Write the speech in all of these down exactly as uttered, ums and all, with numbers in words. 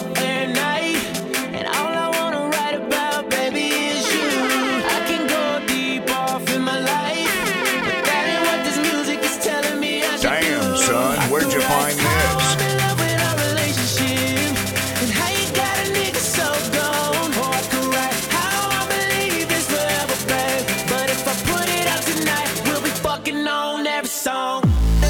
up at night, and all I wanna write about, baby, is you. I can go deep off in my life, but that ain't what this music is telling me I should do. Damn, son, where'd you find this? Song.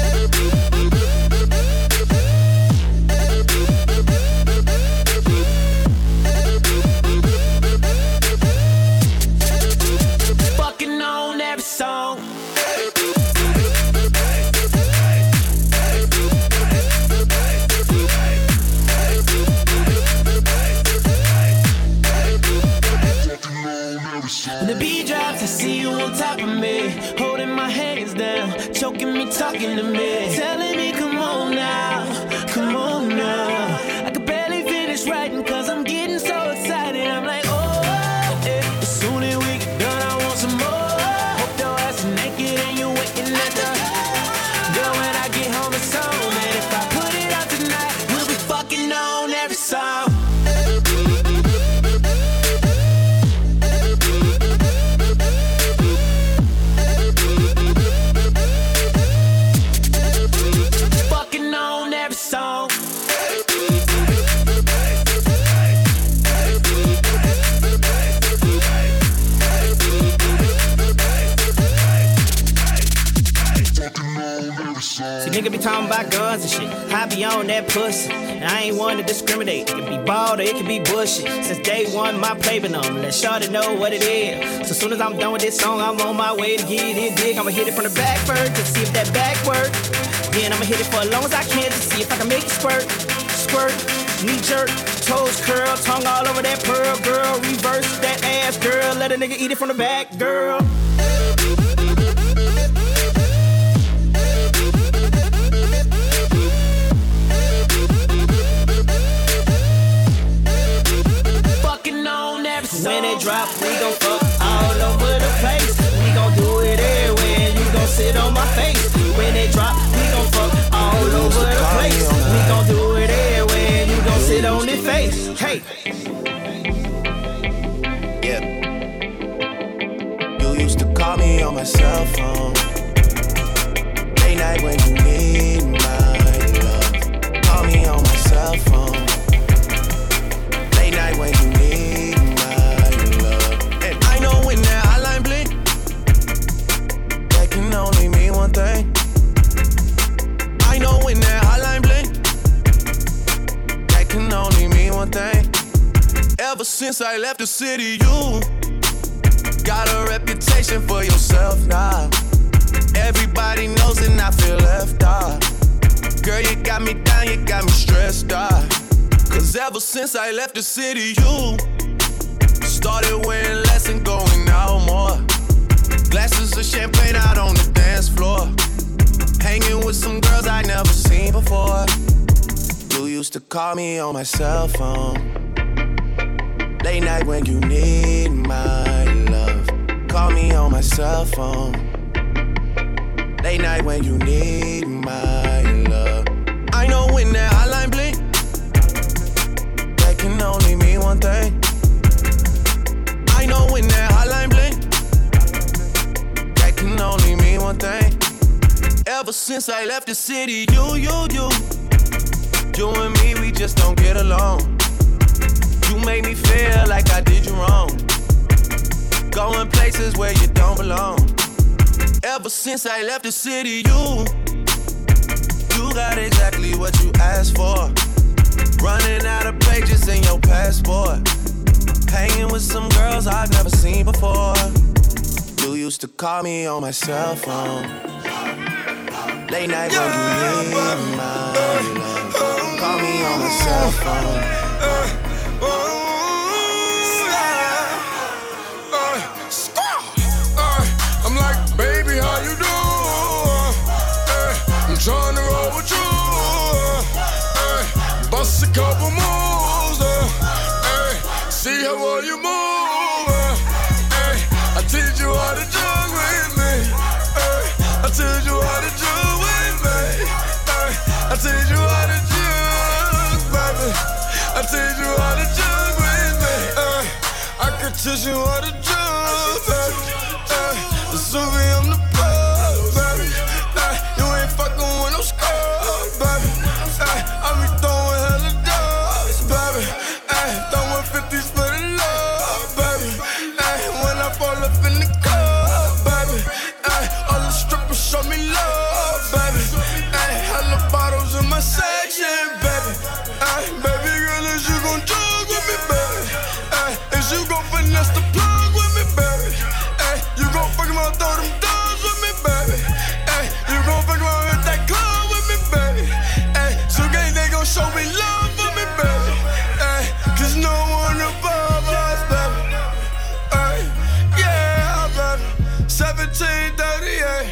Fucking on every song. When the beat drops, I see you on top of me, holding my hands down, choking me, talking to me, telling me come on now, come on now. I could barely finish writing cause I'm getting so excited. I'm like, oh, yeah. As soon as we get done, I want some more. Hope your ass is naked and you're waiting at the girl when I get home it's on. And if I put it out tonight, we'll be fucking on every song. See, nigga be talking about guns and shit. I be on that pussy, and I ain't one to discriminate. It can be bald or it can be bushy. Since day one, my play been on. Let Shawty know what it is. So soon as I'm done with this song, I'm on my way to get it big. I'ma hit it from the back first to see if that back work. Then I'ma hit it for as long as I can to see if I can make it squirt, squirt, knee jerk, toes curl, tongue all over that pearl, girl. Reverse that ass, girl. Let a nigga eat it from the back, girl. When it drop, we gon' fuck all over the place. We gon' do it everywhere, and you gon' sit on my face. When it drop, we gon' fuck all over the place. We gon' do it everywhere, and you gon' sit on this face. Hey. Yeah. You used to call me on my cell phone. Late night when you need my love. Call me on my cell phone. Late night when you need my when that hotline blink, that can only mean one thing. I know when that hotline blink, that can only mean one thing. Ever since I left the city, you got a reputation for yourself now. Everybody knows and I feel left out. Girl, you got me down, you got me stressed out. Cause ever since I left the city, you started wearing less and going out more. Glasses of champagne out on the dance floor. Hanging with some girls I never seen before. You used to call me on my cell phone. Late night when you need my love. Call me on my cell phone. Late night when you need my love. I know when that hotline blink, that can only mean one thing. I know when that hotline blink, that can only mean one thing. Ever since I left the city, you, you, you, you and me, we just don't get along. You made me feel like I did you wrong. Going places where you don't belong. Ever since I left the city, you, you got exactly what you asked for. Running out of pages in your passport. Hanging with some girls I've never seen before. You used to call me on my cell phone. Late night when you need my love. Call me on my cell phone. I'm like, baby, how you doing? I'm trying to roll with you. Bust a couple moves. See how well you move, ay. I teach you how to jug with me, ay. I teach you how to jug with me, ay. I teach you how to jug, baby. I teach teach you how to jump, baby. Ay, Suvi, I'm the plug, baby. Ay, you ain't fucking with no scrub, baby. Ay, I be throwing hella dubs, baby. Ay, throwing fifties for the love, baby. Ay, when I fall up in the club, baby. Ay, all the strippers show me love, baby. Ay, hella bottles in my section, baby. Ay, baby girl, is you gon' jug with me, baby? Ay, is you gon' finesse the plug with me, baby? Ay, you gon' fucking around, throw them dogs with me, baby? Ay, you gon' fucking around hit that club with me, baby? Ay, so gang, they gon' show me love with me, baby? Ay, cause no one above us, baby. Ay, yeah, baby. seventeen thirty-eight.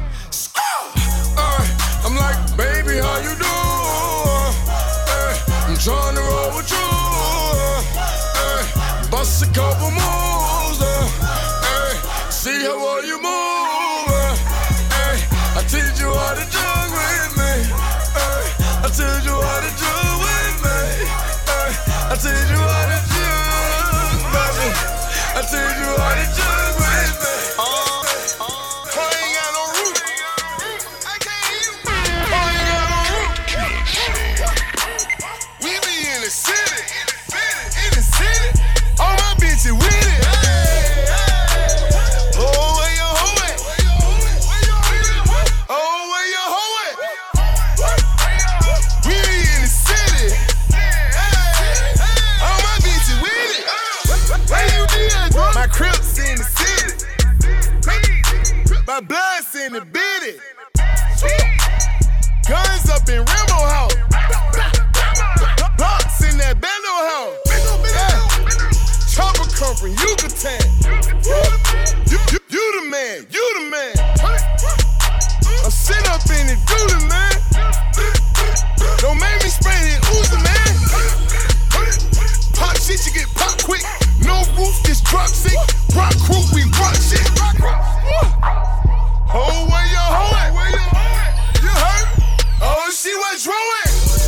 Ay, I'm like, baby, how you doing? Ay, I'm trying to roll with you. Ay, bust a couple moves. Ay, see how well you move. Ay, I teach you how to jug with me. Ay, I teach you how to jug with me. Ay, I teach you how to jug, baby. I teach you how to jug with me. I ain't got no roof. I can't hear you. I ain't got no roof. We be in the city, in the city. All my bitches with it. Oh, where your hoe at? Oh, where your hoe at? We be in the city. All my bitches with it. Where you be at, bro? My Crips in the city. My blood's in the bitty. Guns up in Rambo house. Blocks in that bando house. Yeah. Chopper come from Yucatan. You, you, you the man, you the man. I'm sit up in it, do the man. Don't make me spray it, Uzi, man. Pop shit, you get pop quick. No roof, just drop sick. Rock crew, we rock shit. Oh, where your hoe at? You heard? Oh, she was drawing.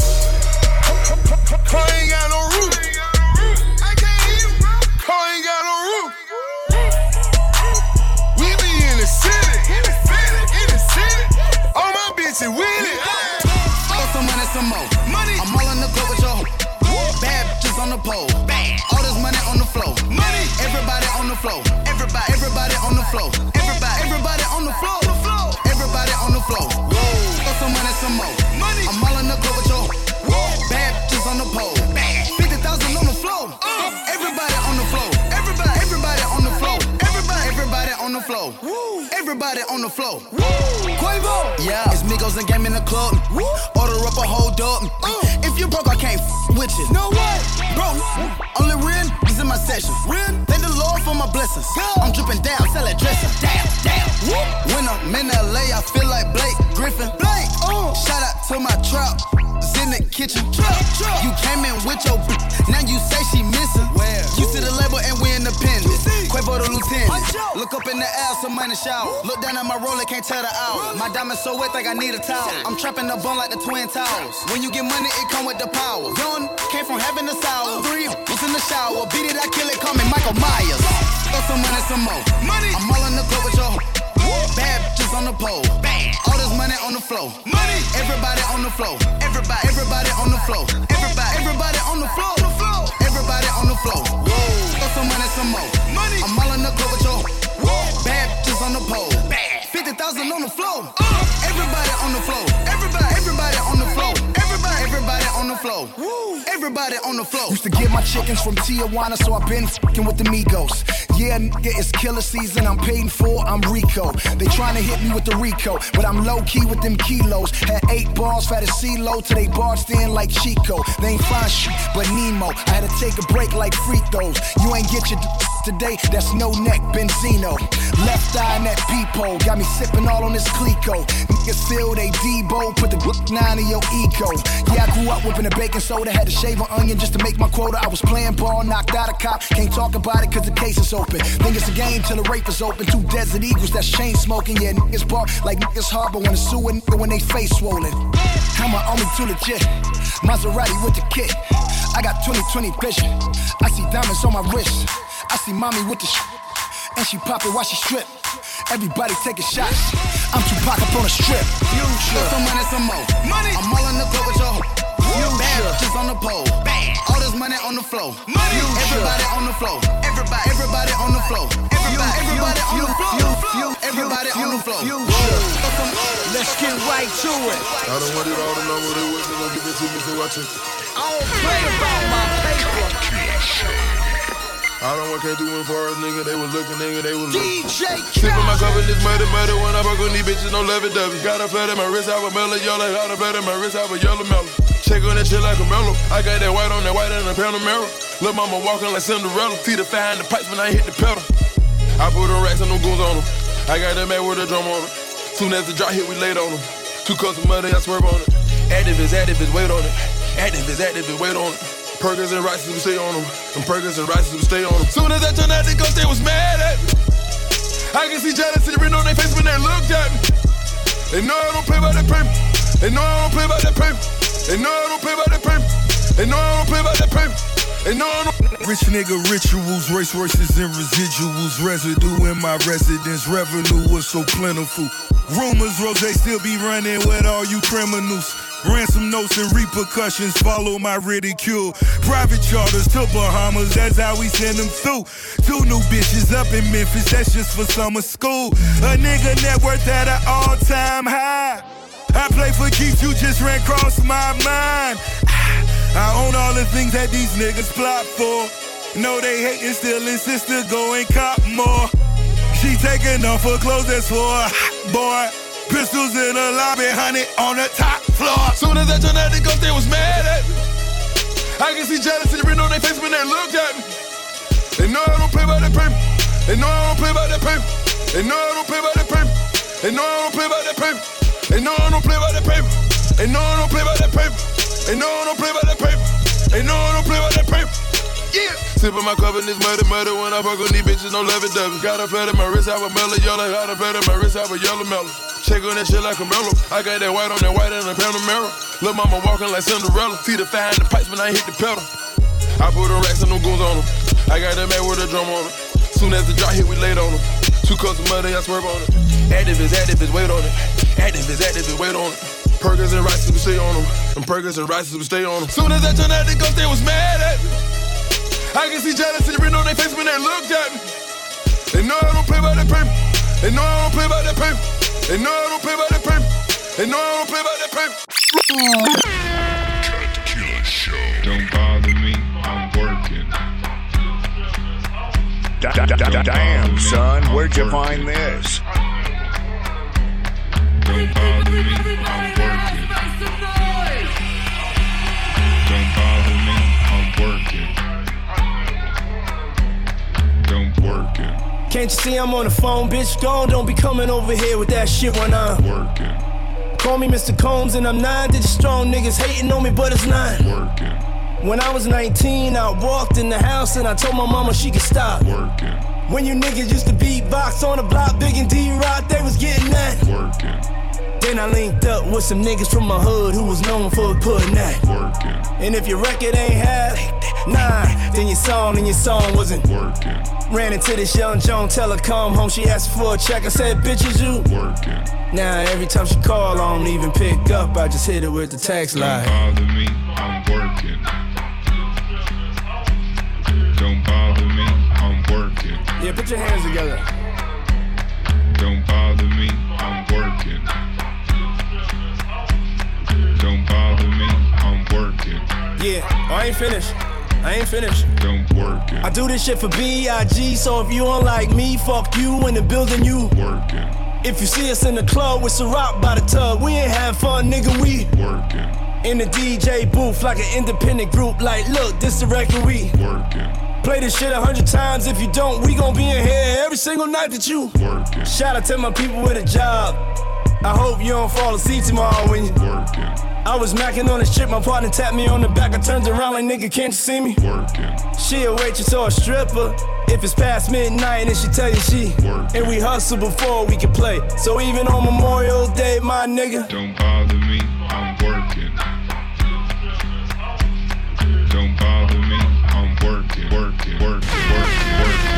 Car ain't got no roof. I can't hear you, bro. Car ain't got no roof. We be in the city. In the city. In the city. All my bitches with it. Throw some money, some more. Money. I'm all in the club with your hoe. Bad bitches on the pole. Bad. All this money on the floor. Money. Everybody on the floor. Everybody. Everybody on the floor. Everybody. Everybody on the floor. Everybody on the floor. Throw some money, some more. Money. I'm all in the club with your hoe. Bad bitches on the pole. Bad. fifty thousand on the floor. Uh. Everybody on the floor. Everybody. Everybody on the floor. Everybody. Everybody on the floor. Woo. Everybody on the floor. Woo. Quavo. Yeah. It's Migos and game in the club. Woo. Order up a whole dog. Uh. If you broke, I can't f with you. No way. Bro, only real is in my session. Real. Thank the Lord for my blessings. Yeah. I'm dripping down, sell that dressing. Damn, damn. Woo. When I'm in L A, I feel like Blake Griffin. Blake. Uh. Shout out to my trap. In the kitchen. Trap, trap. You came in with your b- now you say she missing. Where? You see the label and we independent. Quavo the lieutenant. Look up in the air, some money shower. Look down at my roller, can't tell the hour. My diamond so wet, think I need a towel. I'm trapping the bone like the Twin Towers. When you get money, it come with the power. Young came from heaven to sour. Three was in the shower. Beat it, I kill it, call me Michael Myers. Throw some money, some more. Money. I'm all in the club with your hoe. Bad bitches on the pole. Bad. All this money on the floor. Money. Everybody on the floor. Everybody. Everybody on the floor. Everybody. Everybody on the floor. Everybody on the floor. Throw some money, some more. Money. I'm all in the club with your bad bitches on the pole. Bad. fifty thousand on the floor. Uh. Everybody on the floor. Everybody. Everybody on the floor. Everybody. Everybody on the floor. Woo. Everybody on the floor. Used to get my chickens from Tijuana, so I've been f***ing with the Migos. Yeah, nigga, it's killer season. I'm paid for, I'm Rico. They tryna hit me with the Rico, but I'm low key with them kilos. Had eight bars, fat as CeeLo, till they barged in like Chico. They ain't find shit but Nemo. I had to take a break like free throws. You ain't get your d- today, that's no neck Benzino. Left eye in that peephole, got me sipping all on this Clico. Niggas feel they Debo, put the Glock nine in your eco. Yeah, I grew up whipping a baking soda, had to shave an onion just to make my quota. I was playing ball, knocked out a cop, can't talk about it cause the case is open. Think it's a game till the rape is open. Two Desert Eagles that's chain smoking, yeah, niggas bark like niggas harbor when it's sue a nigga when they face swollen. I'm a army too legit, Maserati with the kit. I got twenty twenty vision, I see diamonds on my wrist. I see mommy with the sh, and she pop it while she strip. Everybody taking shots. I'm Tupac up on a strip. Future. Some money, some more. Money. I'm all in the club with your hoe. Bad bitches on the pole. Bad. All this money on the floor. Money. Everybody on the floor. Everybody. Everybody on the floor. Everybody. Everybody on the floor. Everybody on the floor. Let's get right to it. I don't want it all to know what it was. They gon' give it to me, so watch it. I don't play about my paper. I don't want can't do it for us, nigga. They was looking, nigga. They was looking. D J Sippin' my cup in this muddy, muddy. When I fuck with these bitches, no lovey-dovey. Got a flat in my wrist, I was mellow yellow. Got a flat in my wrist, I was yellow mellow. Check on that shit like a mellow. I got that white on that white and a Panamera. Lil' mama walking like Cinderella. See the fire in the pipes when I hit the pedal. I put them racks and them goons on them. I got that man with a drum on it. Soon as the drop hit, we laid on them. Two cups of money, I swerve on it. Activists, activists, wait on it. Activists, activists, wait on it. Perkins and Rices, we stay on them. And Perkins and Rices, we stay on them. Soon as I turned out the ghost, they was mad at me. I can see jealousy written on their face when they looked at me. They know I don't play by that paper. They know I don't play by that paper. They know I don't play by that paper. They know I don't play by that paper. They know I don't. Rich nigga rituals, race horses and residuals. Residue in my residence, revenue was so plentiful. Rumors, Rose still be running with all you criminals. Ransom notes and repercussions follow my ridicule. Private charters to Bahamas, that's how we send them through. Two new bitches up in Memphis, that's just for summer school. A nigga net worth at an all-time high. I play for keeps, you just ran across my mind. I own all the things that these niggas plot for. No, they hatin', still insist to go and cop more. She taking off her clothes, that's for a hot boy. Pistols in the lobby, honey, on the top floor. Soon as I turned out the ghost, they was mad at me. I can see jealousy written on their face when they looked at me. They know I don't play by that paper. They know I don't play by that paper. They know I don't play by that paper. They know I don't play by that paper. They know I don't play by that paper. They know I don't play by that paper. They know I don't play by that paper. They know I don't play by that paper. Yeah. Sippin' my cup in this muddy, muddy. When I fuck with these bitches, no lovey-dovey. Got a flat in my wrist, I was mellow yellow. Got a flat in my wrist, I was yellow mellow. Check on that shit like a mellow. I got that white on that white and a Panamera. Lil' mama walking like Cinderella. See the fire in the pipes when I hit the pedal. I put them racks and them goons on them. I got that man with a drum on it. Soon as the drop hit, we laid on them. Two cups of money, I swerve on it. Activists, activists, wait on it. Activists, activists, wait on it. Perkins and Rices, we stay on them. And Perkins and Rices, we stay on them. Soon as I turned out the ghost, they was mad at me. I can see jealousy written on their face when they looked at me. They know I don't play by that paper. They know I don't play by that paper. They know I don't play by that paper. They know I don't play by that paper. Cut Killer Show. Don't bother me, I'm working. Damn, son, where'd you find this? Don't bother me, I'm working. Don't bother me, I'm working. Don't work it. Can't you see I'm on the phone, bitch? Gone, don't be coming over here with that shit when I'm working. Call me Mister Combs and I'm nine digit strong. Niggas hating on me, but it's nine. Working. When I was nineteen, I walked in the house and I told my mama she could stop. Working. When you niggas used to beatbox on the block, Big and D-Rock, they was getting that. Working. Then I linked up with some niggas from my hood who was known for putting that. Working. And if your record ain't half, nah, then your song and your song wasn't working. Ran into this young Joan, tell her come home, she asked for a check, I said, bitch, is you working? Now every time she call, I don't even pick up, I just hit her with the text line. Don't bother me, I'm working. Don't bother me, I'm working. Yeah, put your hands together. Don't bother me, I'm working. Don't bother me, I'm working. Yeah, oh, I ain't finished. I ain't finished. Don't work it. I do this shit for B I G, so if you don't like me, fuck you in the building, you working. If you see us in the club with Ciroc by the tub, we ain't having fun, nigga, we working. In the D J booth like an independent group, like, look, this the record we working. Play this shit a hundred times, if you don't, we gon' be in here every single night that you working. Shout out to my people with a job. I hope you don't fall asleep tomorrow when you working. I was macking on this shit, my partner tapped me on the back. I turned around like, nigga, can't you see me? Working. She a waitress or a stripper. If it's past midnight and she tell you she working. And we hustle before we can play. So even on Memorial Day, my nigga, don't bother me, I'm working. Don't bother me, I'm working, working, working, working, working.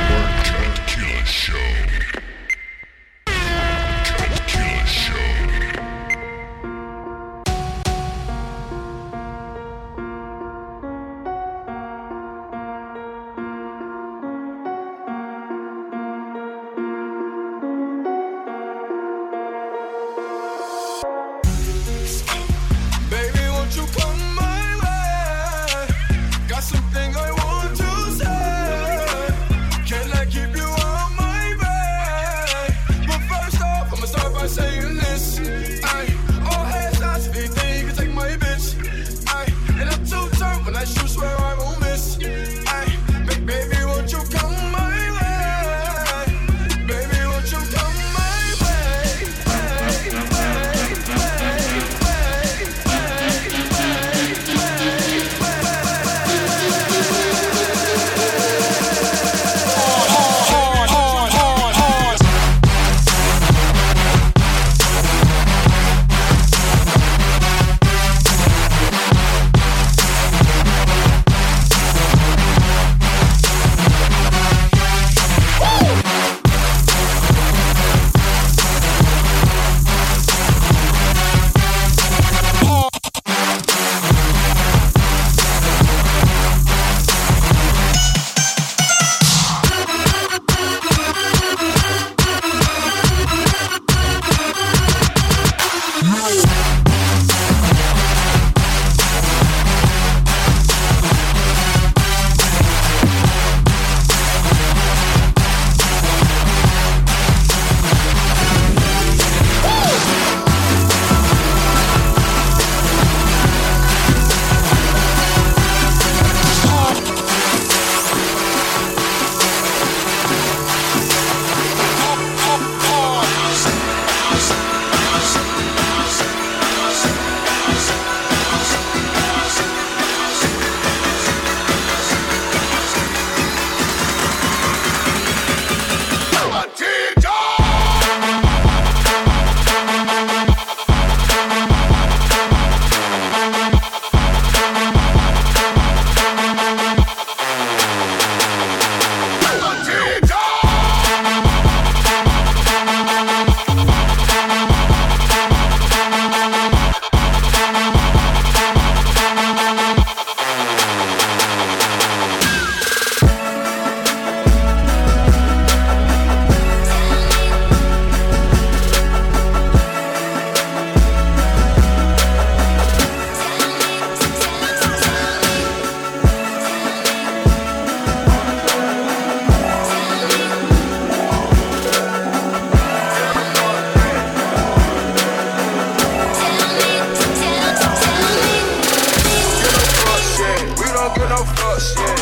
shit.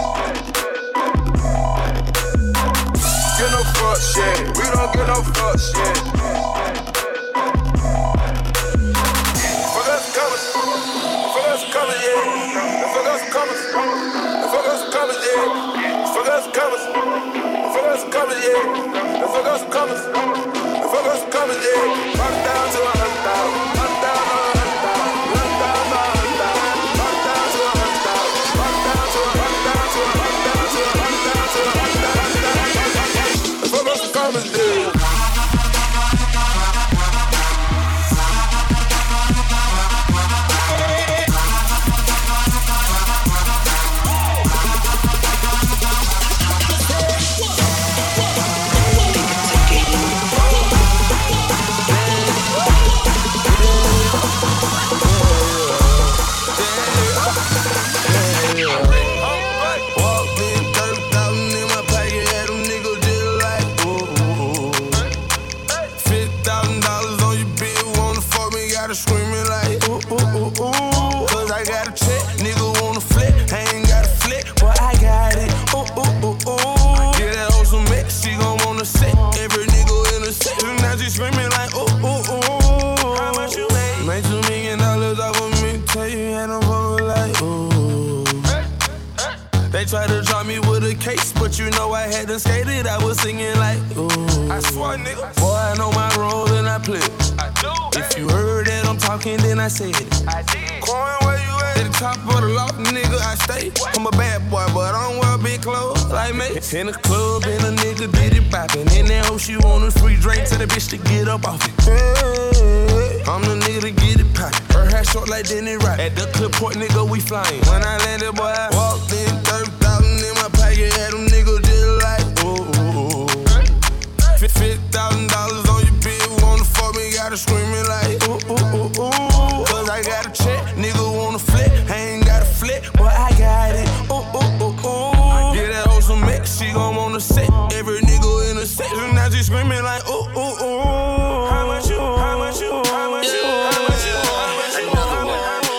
Get no fuck shit. We don't get no fuck shit. Fuck us colors. Fuck us colors, yeah. Fuck us colors. Fuck us colors, yeah. Fuck us colors. Fuck us colors, yeah. Fuck us colors. Fuck us colors, yeah. Rock down to a hundred thousand. Rock down to a hundred thousand. Rock down to a hundred thousand. Rock down to a hundred thousand. Rock down to a rock down to a rock down to a rock down to a rock down to a. Fuck us colors, yeah. Try to drop me with a case, but you know I hadn't skated. I was singing like, ooh. I swear, nigga. Boy, I know my role and I play. I do. If you heard that I'm talking, then I said it. I did. Coin, where you at? At the top of the loft, nigga, I stay. What? I'm a bad boy, but I don't wear big clothes like me. In the club, and a nigga did it poppin'. In that hoe, she want a free drink, tell the bitch to get up off it. Hey, I'm the nigga to get it poppin'. Her hair short like Denny Rock. At the clip point, nigga, we flyin'. When I landed, boy, I walked in, thirty thousand in my pocket, had them niggas just like, ooh, ooh, ooh. fifty thousand dollars on your bill, wanna fuck me, gotta screamin' like, ooh, ooh, ooh, ooh. Cause I got a check, nigga wanna flip, I ain't got a flip, but I got it, ooh, ooh, ooh, ooh. Yeah, that hoe some mix, she gon' wanna sit, every nigga in the section, now she screamin' like, ooh, ooh, ooh. How much you, how much you, how much you, how much you, how much you, how much you?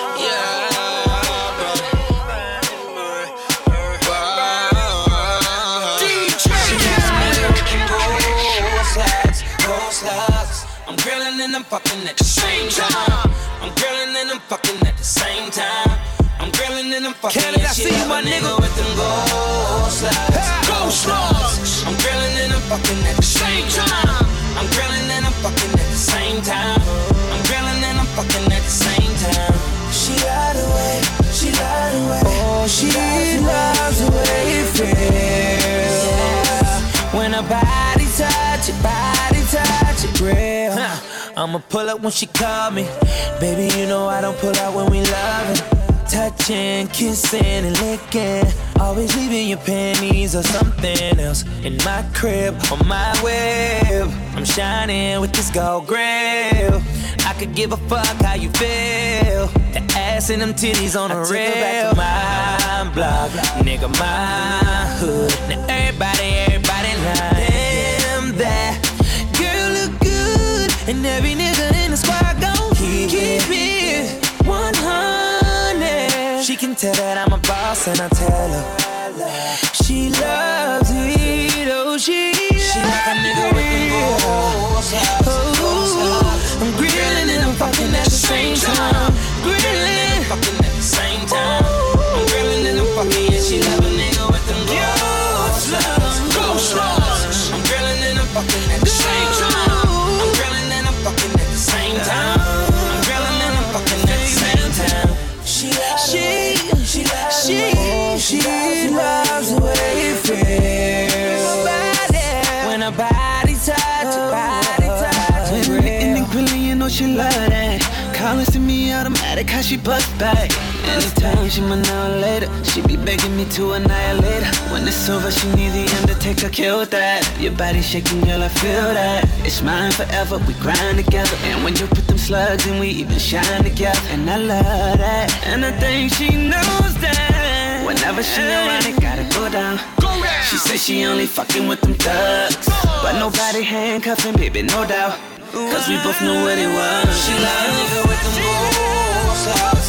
I'm grilling and I'm fucking at the same time. I'm grilling and I'm fucking at the same time. I'm grilling and I'm fucking. Canada, I see you, my nigga. With them gold slugs. Gold slugs. I'm grilling and I'm fucking at the same time. I'm grilling and I'm fucking at the same time. I'm grilling and I'm fucking at the same time. She lied away, she lied away. Oh, she loves the way it feels. Yeah. When her body touch it, body touch it, real. Huh. I'ma pull up when she call me. Baby, you know I don't pull out when we loving. Touching, kissing, and licking. Always leaving your panties or something else in my crib, on my web. I'm shining with this gold grill. I could give a fuck how you feel. The ass and them titties on the real. My block, nigga, my hood. Now everybody, everybody lying. Damn, that girl look good, and every nigga in the squad gon' keep, keep it one hundred. She can tell that I'm a boss, and I tell her she loves it. Oh, she, she like a nigga with them goals. Oh, I'm grilling and I'm fucking at the same time. Grilling, fucking at the same time. I'm grilling and I'm fucking, yeah, she love a nigga with them goals. Gold slugs. I'm grilling and I'm fucking at the same time. I'm grilling and I'm fucking at the same time. I'm grilling and I'm fucking at the same time. She, she, she, she, she loves the way it feels. When her body touch, her body touch. When we in the grilling, you know she love that. Calling to me automatic, how she bust back. Anytime she my now later, she be begging me to annihilate her. When it's over, she need the Undertaker, kill that. Your body shaking, girl, I feel that. It's mine forever, we grind together. And when you put them slugs in, we even shine together. And I love that, and I think she knows that. Whenever she around, it gotta go down. She says she only fucking with them thugs, but nobody handcuffing, baby, no doubt. Cause we both know what it was. She like a nigga with them gold slugs.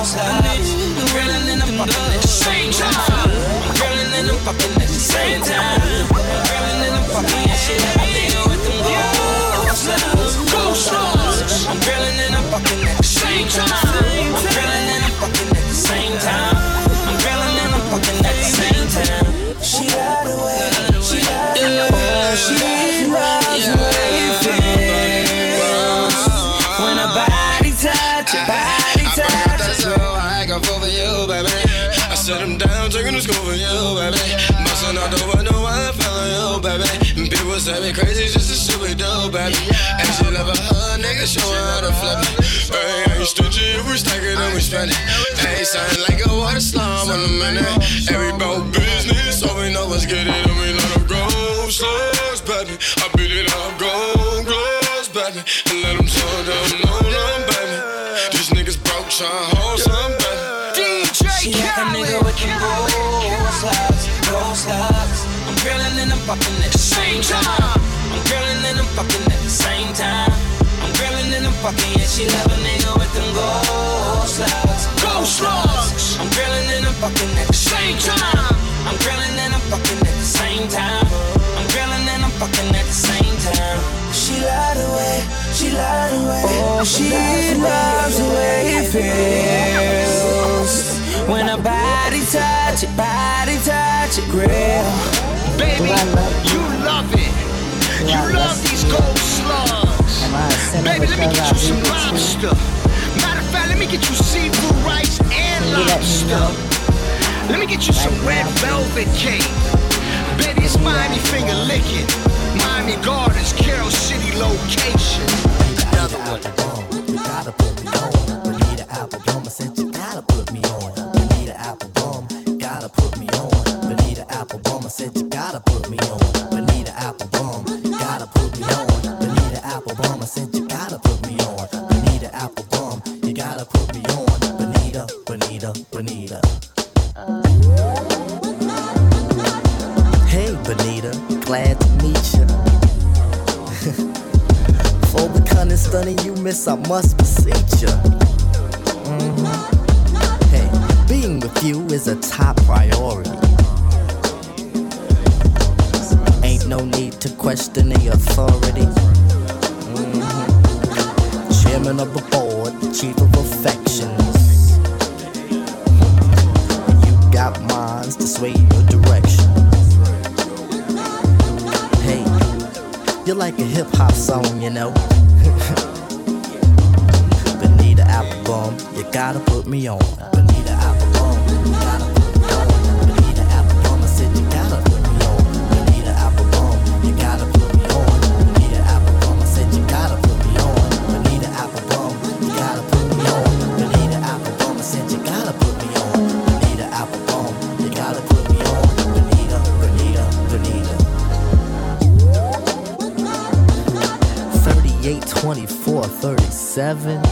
slots. I'm grilling and I'm fucking at the same time. I'm grilling and I'm fucking at the same time. I'm grilling and I'm fucking and shit. I nigga with them gold slugs. Gold slugs. I'm grilling and I'm fucking at the same time. I'm grilling and I'm fucking at the same time. I'm grilling and I'm fucking at the same time. She lied away. She lied away. She loves the way it feels when a body touch, a body touch. I forgot that slow, I got for you, baby. I set him down, taking the scope for you, baby. Bustin' out the window, I follow you, baby. And people say me crazy, just the shit we do, baby. And she love a hug, nigga, show her how to flip it. Hey, I ain't stingy, if we stack it, then we spend it. Hey, sound like a water slum in a minute. Every bout business, all we know is get it, and we let them go. Slugs, baby, I beat it up, go, gloves, baby. And let them slow down, no, no, baby. These niggas broke, tryna hold some, baby. D J She like a nigga with them gold slugs, gold slugs. I'm grilling and I'm fucking at the same time. I'm grilling and I'm fucking at the same time. I'm grilling and I'm fucking, yeah, she love a nigga with them gold slugs, gold slugs. I'm grilling and I'm fucking at the same time. I'm grilling and I'm fucking at the same time. I'm grilling and I'm fucking at the same time. She lied away, she lied away. Oh, she loves the way it feels when a body touch it, body touch it, grill. Baby, you love it. You love these gold slugs. Baby, let me get you some lobster. Matter of fact, let me get you seafood rice and lobster. Let me get you some red velvet cake. Baby, it's Miami finger licking. Miami Gardens, Carroll City location. Another one. You gotta put me on. Bonita Applebum, I said you gotta put me on. Bonita Applebum, gotta put me on. Bonita Applebum, I said you gotta put me on. Bonita Applebum, gotta put me on. Bonita Applebum, I said you gotta put me on. Bonita Applebum, you gotta put me on. Bonita, Bonita, Bonita. Hey Bonita, glad to meet you. For the cunning stunning you miss, I must beseech you. Mm-hmm. Hey, being with you is a top priority. Ain't no need to question the authority. Mm-hmm. Chairman of the board, chief of affections. You got minds to sway your direction. Hey, you're like a hip hop song, you know. Bonita Applebum, you gotta put me on. Bonita Applebum, you gotta put me on. Bonita Applebum, I said you gotta put me on. Bonita Applebum, you gotta put me on. Bonita Applebum, I said you gotta put me on. Bonita Applebum, you gotta put me on. Bonita Applebum, I said you gotta put me on. Bonita Applebum, you gotta put me on. Bonita, Bonita, Bonita. thirty-eight, twenty-four, thirty-seven.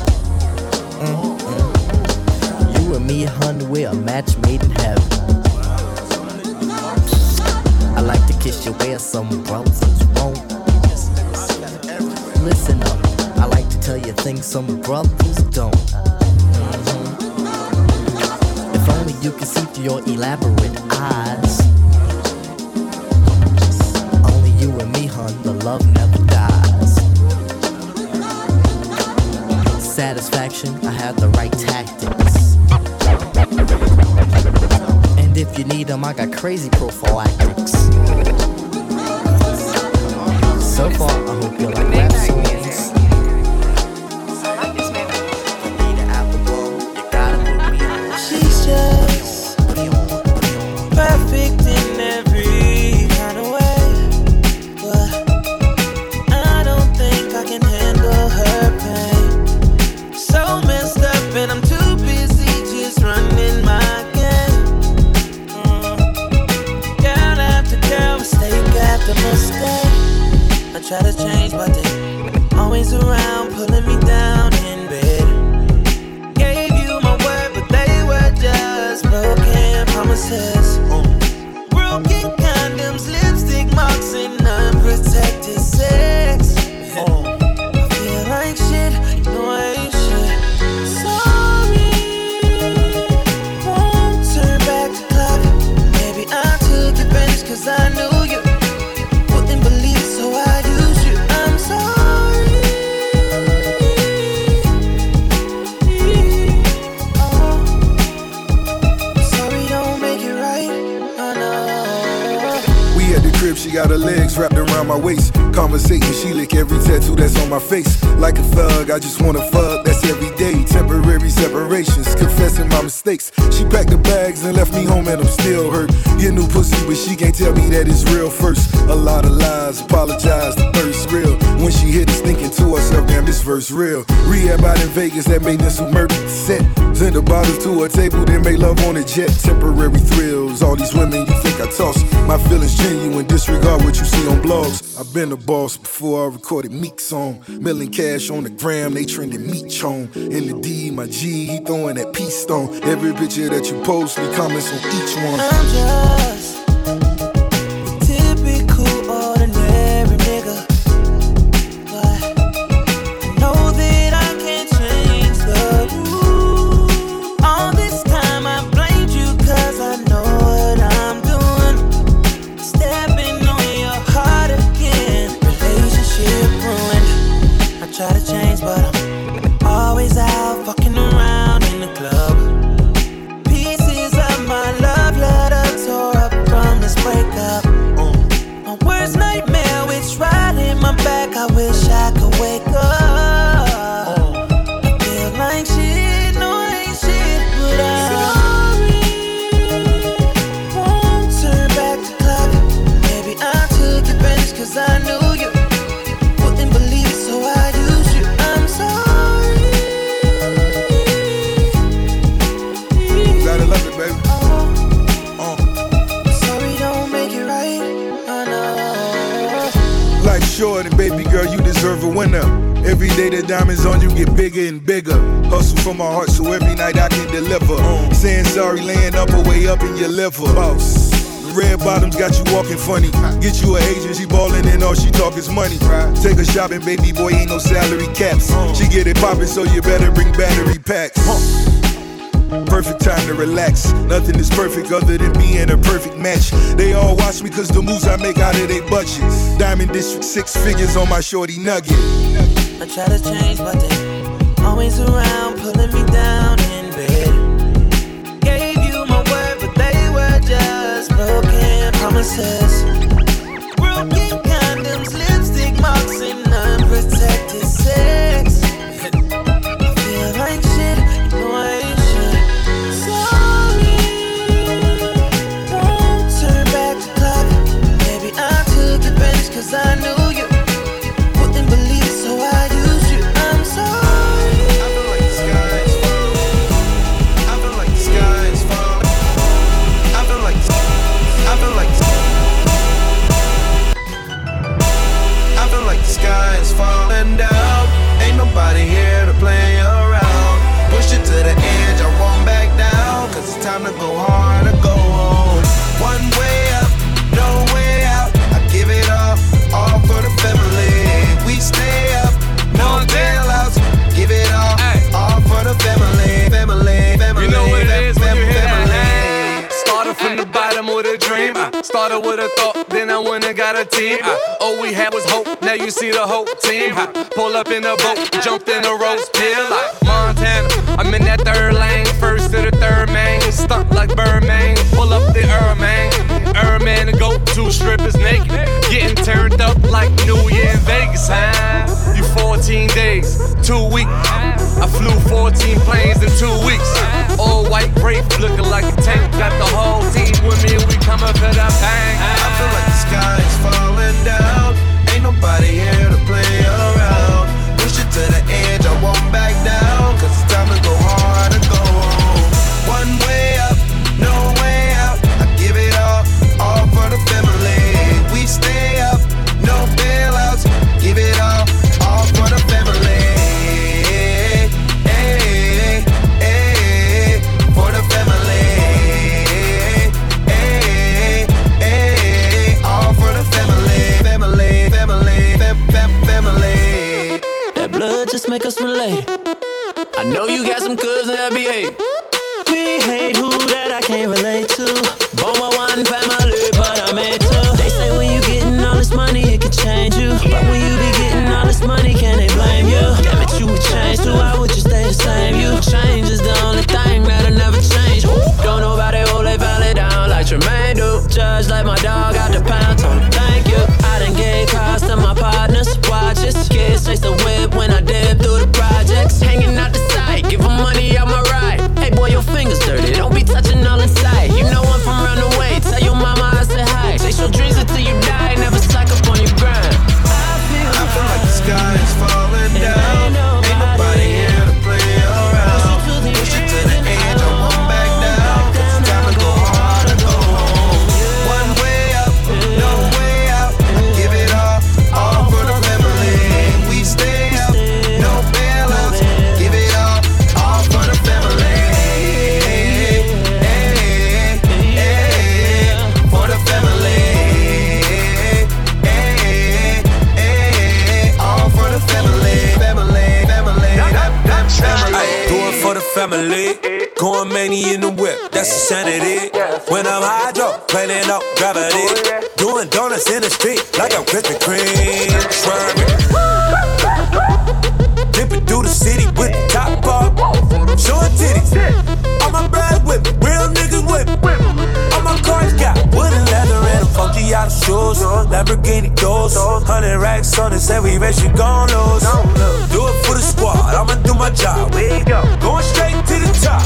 Mm-mm. You and me, hun, we're a match made in heaven. I like to kiss you where some brothers won't. Listen up, I like to tell you things some brothers don't. Mm-hmm. If only you could see through your elaborate eyes. Only you and me, hun, the love never dies. Satisfaction, I have the right tactics. And if you need them, I got crazy prophylactics. So far, I hope you like rap songs. She's just perfect in every kind of way, but I don't think I can handle her pain. So messed up and I'm too busy just running my game. Mm. Girl after girl, mistake after mistake. I try to change but they always around pulling me down in bed. Gave you my word but they were just broken promises. Mm. Broken condoms, lipstick marks and unprotected sex. I feel like shit, you know I ain't shit. Sorry crib, she got her legs wrapped around my waist. Conversating, she lick every tattoo that's on my face. Like a thug, I just wanna fuck, that's every day. Temporary separations, confessing my mistakes. She packed the bags and left me home and I'm still hurt. Get new pussy, but she can't tell me that it's real first. A lot of lies, apologize, the thirst real. When she hit us thinking to herself, damn, this verse real. Rehab out in Vegas, that made this who murdered the set. Send the bottles to a table, then make love on a jet. Temporary thrills, all these women you think I toss. My feelings genuine, disregard what you see on blogs. I've been a boss before I recorded Meek's song. Million cash on the gram, they trending Meek Chong. In the D, my G, he throwing that peace stone. Every picture that you post, me comments on each one. I'm just a typical ordinary nigga, but I know that I can't change the rules. All this time I blamed you cause I know what I'm doing. Stepping on your heart again, relationship ruined. I try to change but I'm always out fucking around in the club. Pieces of my love letter tore up from this breakup. My worst nightmare, it's right in my back. I wish I could wake up. I feel like shit, no I ain't shit, but I'm sorry. Won't turn back the clock. Maybe I took advantage cause I knew you wouldn't believe it, so I used you. I'm sorry. Gotta love it, baby. Uh. Sorry don't make it right. Oh no. Life short and baby girl, you deserve a winner. Every day the diamonds on you get bigger and bigger. Hustle from my heart so every night I can deliver. Uh. Saying sorry, laying up or way up in your liver. Boss. Red bottoms got you walking funny. Get you an agent, she ballin' and all she talk is money. Take her shopping, baby boy, ain't no salary caps. She get it poppin', so you better bring battery packs. Perfect time to relax. Nothing is perfect other than being a perfect match. They all watch me cause the moves I make out of they budgets. Diamond District, six figures on my shorty nugget. I try to change but they always around pulling me down in bed. Gave you my word but they were just broken promises. Broken condoms, lipstick marks and unprotected sex. I feel like shit, you know I ain't shit. Sorry, won't turn back the clock. Maybe I took advantage cause I knew you wouldn't believe it, so I used you. I'm sorry. I feel like the sky is falling. I feel like the sky is falling. I feel like I feel like I feel like the sky is falling down. Ain't nobody here to play around. Push it to the edge, I won't back down. Cause it's time to go hard or go home. One way up, no way out. I give it all, all for the family. We stay up, no bailouts. Give it all, all for the family. Family, family. You know what it is when you hear family. that. Started from the bottom with a dream. I started with a thought, then I went and got a team. I, all we had was hope, now you see the whole team. I pull up in a boat, jumped in a roast pill like Montana. I'm in that third lane, first to the third man. Stuck like Birdman, pull up the Erman. Erman to go, two strippers naked. Getting turned up like New Year in Vegas, huh? You fourteen days, two weeks. I flew fourteen planes in two weeks. All white grape, looking like a tank. Got the whole team with me, we coming for the bang. I feel like the sky is falling down. Ain't nobody here to play around. Push it to the edge, I won't back down. Cause it's time to go hard or go home. One way up, no way out. I give it all, all for the family. We stay up, no bailouts. Give it all, all for the family. Hey, hey, for the family. Hey, hey, all for the family. Family, family, fam, fam, family. That blood just make us relate. I know you got some cousins that behave. We hate who that I can't relate to. Born with one family, but I made two. They say when you getting all this money, it can change you. But when you be getting all this money, can they blame you? Damn it, you would change too. Why would you stay the same? You change is the only thing that'll never change. Don't nobody hold their valley down like Tremaine do. you. Judge like my dog out the pound, told him thank you. I done gave cars to my partners, watches. Kids chase the whip when I dip through the projects. Hanging out the side, give them money out my ride. Hey boy, your fingers dirty, don't be touching all inside. You know I'm from round the way, tell your mama I said hi. Chase your dreams until you die, never slack up on your grind. I feel, I feel like the sky is falling down. Ain't nobody here to play around. Push it to the edge, I won't back down. It's time to go hard or go home. One way up, no way out. I give it all, all for the family. We stay up, no bailouts. Give it all, all for the family. Hey, hey, hey, for the family. Hey, hey, all for the family. Family, family, family. Do it for the family. Going many in the whip, that's insanity. When I'm hydro, planning up gravity. Doing donuts in the street like I'm Krispy Kreme. Swerving. Dipping through the city with the top off. Showing titties. All my bras whip, real niggas whip. All my cars got wooden leather and funky out of shoes. Lamborghini doors, hundred racks on it, say we bet you gon' lose. Do it for the squad, I'ma do my job. Going straight to the top.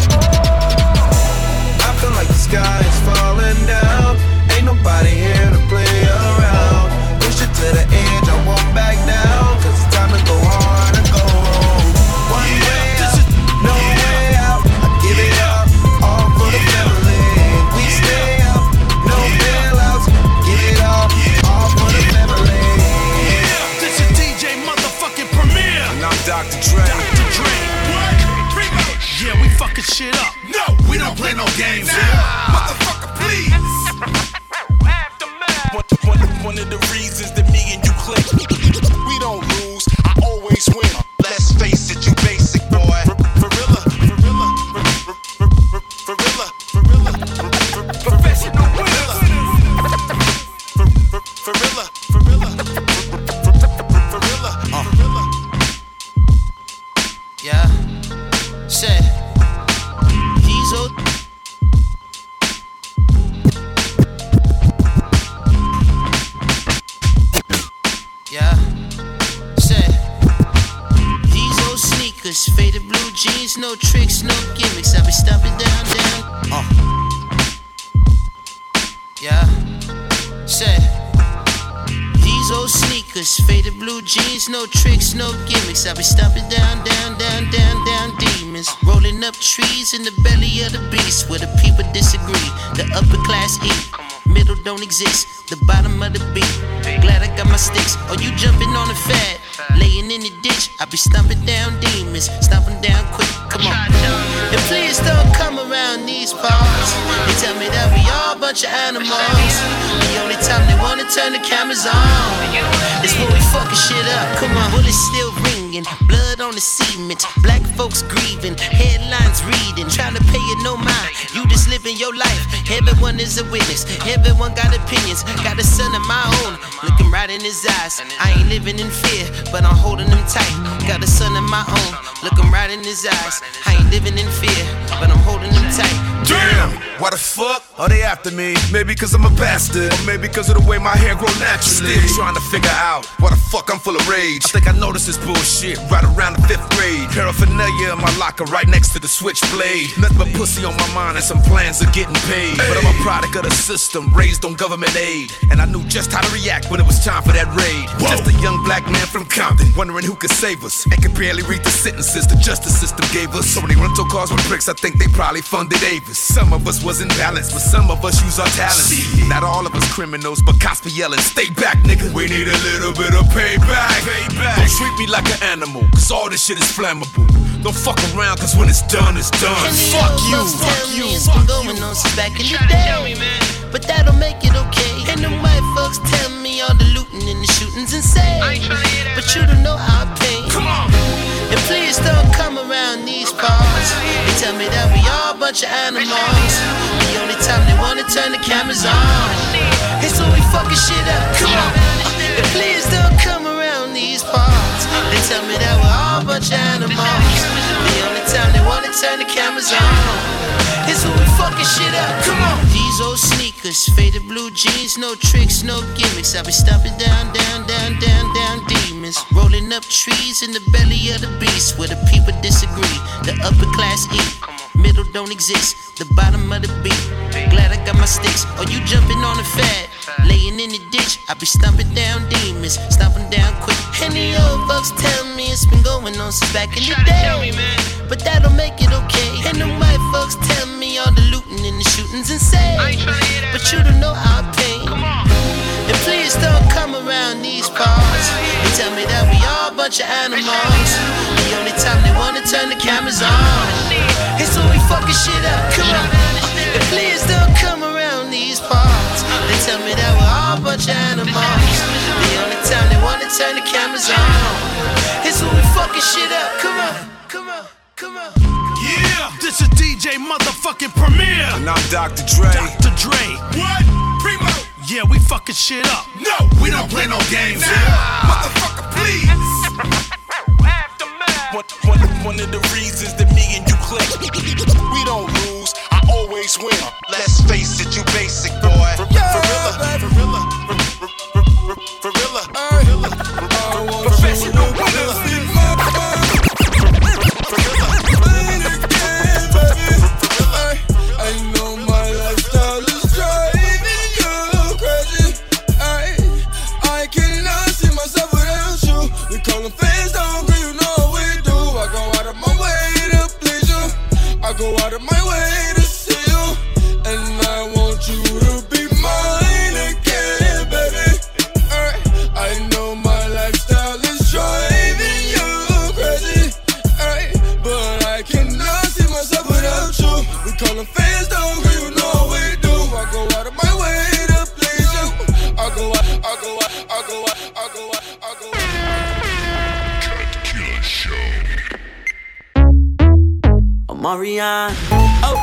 I feel like the sky is falling down. Ain't nobody here to play around. Push it to the edge, I won't back down. Cause it's time to go hard and go home. One way up, no way out. I give it up, all for the family. We stay up, no bailouts. Give it all, all for the family. This is D J motherfucking Premier. And I'm Doctor Dre. Doctor Dre. What? Yeah, we fucking shit up. No, we don't play no games here. Nah. Motherfucker, please. one, one, one of the reasons that me and you click. We don't lose, I always win. Let's face it, you basic boy. Gorilla, gorilla, gorilla, gorilla, professional gorilla. Gorilla, gorilla, gorilla, gorilla. Yeah, say these old. Yeah, say these old sneakers, faded blue jeans, no tricks, no gimmicks. I be stomping down, down. Uh. Yeah, say these old sneakers, faded blue jeans, no tricks, no gimmicks. I be stomping down, down, down, down, down demons. Rolling up trees in the belly of the beast where the people disagree. The upper class eat, middle don't exist. The bottom of the beat. Glad I got my sticks. Oh, you jumping on the fat, laying in the ditch. I be stomping down demons, stomping down quick. Come on. And please don't come around these parts. They tell me that we all a bunch of animals. The only time they wanna turn the cameras on is when we fucking shit up. Come on. Bullets still ringing, blood on the cement. Black folks grieving, headlines reading, trying to pay it no mind. You just living your life. Everyone is a witness. Everyone got opinions. Got a son of my own, looking right in his eyes. I ain't living in fear, but I'm holding him tight. Got a son of my own, looking right in his eyes. I ain't living in fear, but I'm holding him tight. Damn, why the fuck are they after me? Maybe cause I'm a bastard, or maybe cause of the way my hair grow naturally. Still trying to figure out why the fuck I'm full of rage. I think I noticed this bullshit right around the fifth grade. Paraphernalia in my locker right next to the switchblade. Nothing but pussy on my mind and some plans of getting paid. But I'm a product of the system, raised on government aid. And I knew just how to react when it was time for that raid. Whoa. Just a young black man from Compton, wondering who could save us. And could barely read the sentences the justice system gave us. So many rental cars with bricks, I think they probably funded Avis. Some of us was in balance, but some of us use our talents. Not all of us criminals, but cops be yelling, stay back, nigga. We need a little bit of payback. payback. Don't treat me like an animal, cause all this shit is flammable. Don't fuck around, cause when it's done, it's done. And fuck you, fuck you. It's been going on since back in the day. But that'll make it okay. And them white folks tell me all the looting and the shooting's insane. But you don't know how I pain. Come on. And please don't come around these parts. They tell me that we all a bunch of animals. The only time they wanna turn the cameras on is when we fucking shit up. Come on. And please don't come around these parts. They tell me that we're all a bunch of animals. The only time they wanna turn the cameras on is when we fucking shit up. Come on. These old sneakers, sneakers, faded blue jeans, no tricks, no gimmicks. I be stomping down, down, down, down, down demons. Rolling up trees in the belly of the beast where the people disagree. The upper class eat, middle don't exist, the bottom of the beat. Glad I got my sticks. Or you jumping on the fat, laying in the ditch. I be stomping down demons, stomping down quick. And the old folks tell me it's been going on since back in the day, but that don't make it okay. And the white folks tell me all the looting and the shootings insane, but you don't know how I pain. And please don't come around these parts and tell me that we all a bunch of animals. The only time they wanna turn the cameras on is when we fucking shit up. Come on. And please don't come around these parts and tell me that we're all a bunch of animals. The only time they wanna turn the cameras on is when we fucking shit up. Come on, come on, come on. Yeah, this is D J motherfucking Premier. And I'm Doctor Dre. Doctor Dre. What? Primo. Yeah, we fucking shit up. No, we don't play no games. Nah. Motherfucker, please. One, one, one of the reasons that me and you click, we don't lose, I always win. Let's face it, you basic boy. For real, for real, for real, professional winners. I know my lifestyle is driving you crazy. I, I cannot see myself without you. We call them fans down, girl, you know we do. I go out of my way to please you. I go out of my way to see you. And I want you to be mine again, baby. I, I know my lifestyle is driving you crazy. I, but I cannot see myself without you. We call them fans down, girl, you know we do. I go out of my way to please you. I go out, I go out, I go out, I go out, I go out. Killer Show. Marion, oh,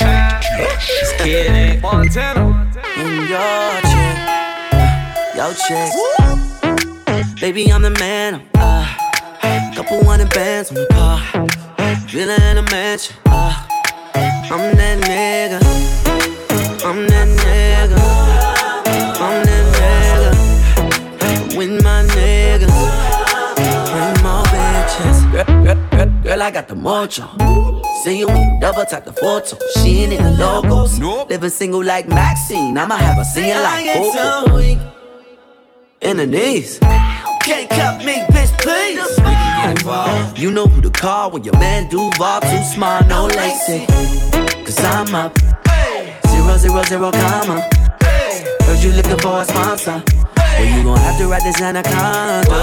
Skid Montana, in your chick, your chick. Baby, I'm the man. Uh, couple hundred bands on the car, villa in a mansion. Uh, I'm that nigga, I'm that nigga, I'm that nigga. With my niggas, bring more bitches. Girl, girl, girl, girl, I got the mojo. See you double tap the photo. She ain't in the logos. Nope. Living single like Maxine. I'ma have her singing like Coco. In the knees. Can't cut me, bitch, please. We can get involved. You know who to call when your man Duval too smart, no lacy. Cause I'm up. Zero, zero, zero, comma. Heard you looking for a sponsor. Well, you gon' have to write this anaconda.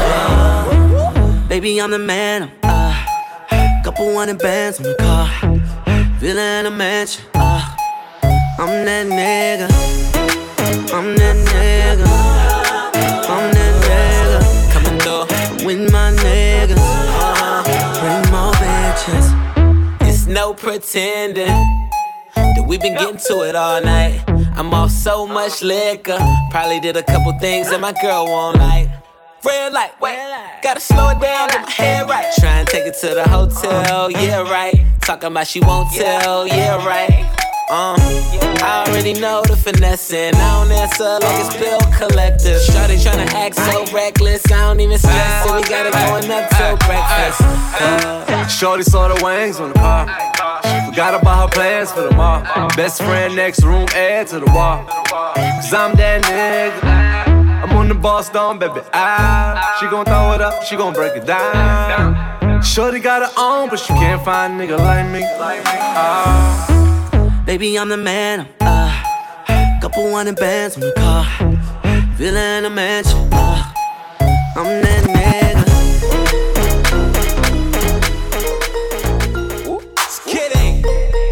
Baby, I'm the man. Uh, couple hundred bands on the car, villa in a mansion. Uh, I'm that nigga, I'm that nigga, I'm that nigga. Coming through with my niggas, uh, bring more bitches. It's no pretending that we been getting to it all night. I'm off so much liquor, probably did a couple things that my girl won't like. Red light, wait, gotta slow it down, get my head right. Try and take it to the hotel, yeah, right. Talking about she won't tell, yeah, right. Uh, I already know the finessing. I don't answer like it's bill collector. Shawty tryna act so reckless, I don't even stress it. We got it going up till breakfast. Uh, Shorty saw the wings on the car. She forgot about her plans for tomorrow. Best friend next room, add to the wall. Cause I'm that nigga. I'm on the boss down, baby. Ah, she gon' throw it up, she gon' break it down. Shorty got her own, but she can't find a nigga like me. Ah. Baby, I'm the man. Uh, couple hundred bands on the car, villa in a mansion. Uh, I'm that nigga. Just kidding.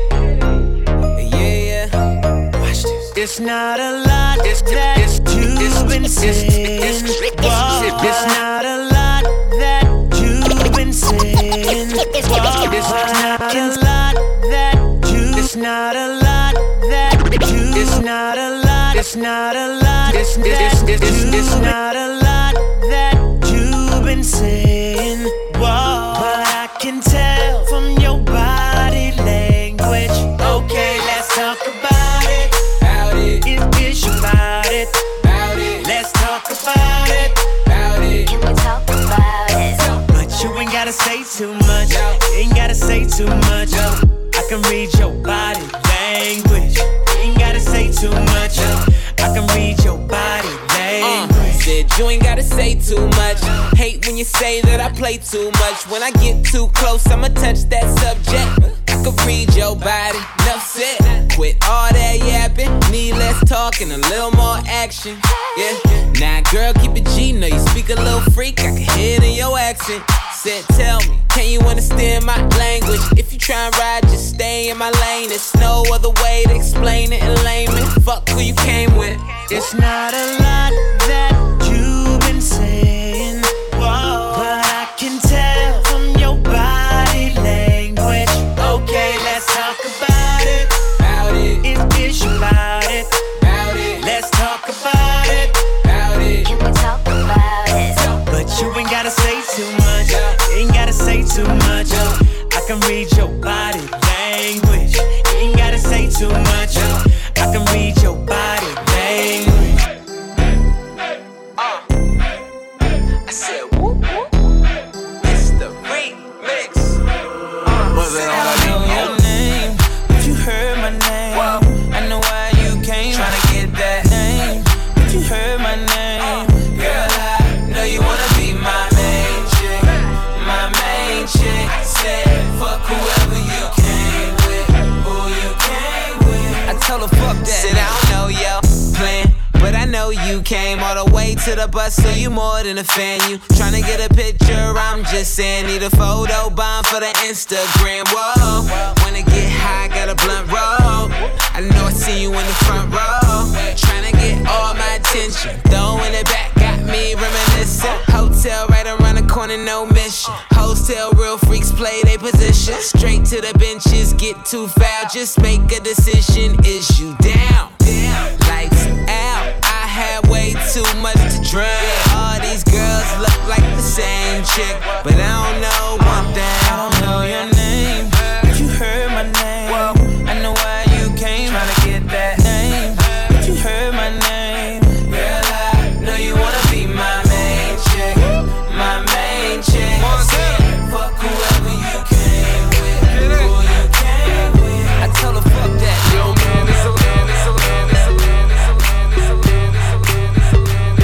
Yeah, yeah. Watch this. It's not a lot it's, that it's, you've it's, been it's, saying. It's, it's, it's, it's not a lot that you've been saying. It's not a lot that you. It's not a lot that you. It's not a lot. It's not a lot. It's it's it's it's not a lot that you've been saying. Whoa, but I can tell from your body language. Okay, let's talk about it. but you ain't gotta say too much. Hate when you say that I play too much. When I get too close, I'ma touch that subject. I could read your body, enough said. Quit all that yapping, need less talk and a little more action. Yeah, now girl, keep it G, know you speak a little freak, I can hear it in your accent. Said, tell me, can you understand my language? If you try and ride, just stay in my lane. There's no other way to explain it in layman. Fuck who you came with. It's not a lot that you've been saying, whoa, but I can tell from your body language. Okay, let's talk about it. About it. If it's about it. About it. Let's talk about it. About it. Can we talk about it? But you ain't gotta say too much. You ain't gotta say too much. I can read your body language. You ain't gotta say too much. I can read your body language. Uh, I said, whoop, whoop. It's the remix. Uh, Was it all I know your name? But you heard my name. Whoa. I know why you came. Tryna get that name. But you heard my name. Uh, girl, I know you wanna be my main chick. My main chick. Said, fuck whoever you came with. Who you came with. I told her fuck that. Said I don't know your plan, but I know you came all the way to the bus, so you more than a fan. You tryna get a picture, I'm just saying. Need a photo bomb for the Instagram. Whoa, wanna get high, got a blunt roll. I know I see you in the front row. Tryna get all my attention, throwing it back, got me reminiscing. Hotel right around the corner, no mission. Hotel, real freaks play their position. Straight to the benches, get too foul, just make a decision. Is you down? Lights out, I had way too much to drink. All these girls look like the same chick, but I don't know one thing. I don't know your name, but you heard my name. I know why you came. Tryna get that name, but you heard my name. Girl, I know you wanna be my main chick, my main chick. Fuck whoever you came with, who you came with. I told her fuck that. Yo, man, it's a land, it's a land, it's a land, it's a land, it's a land, it's a land, it's a land,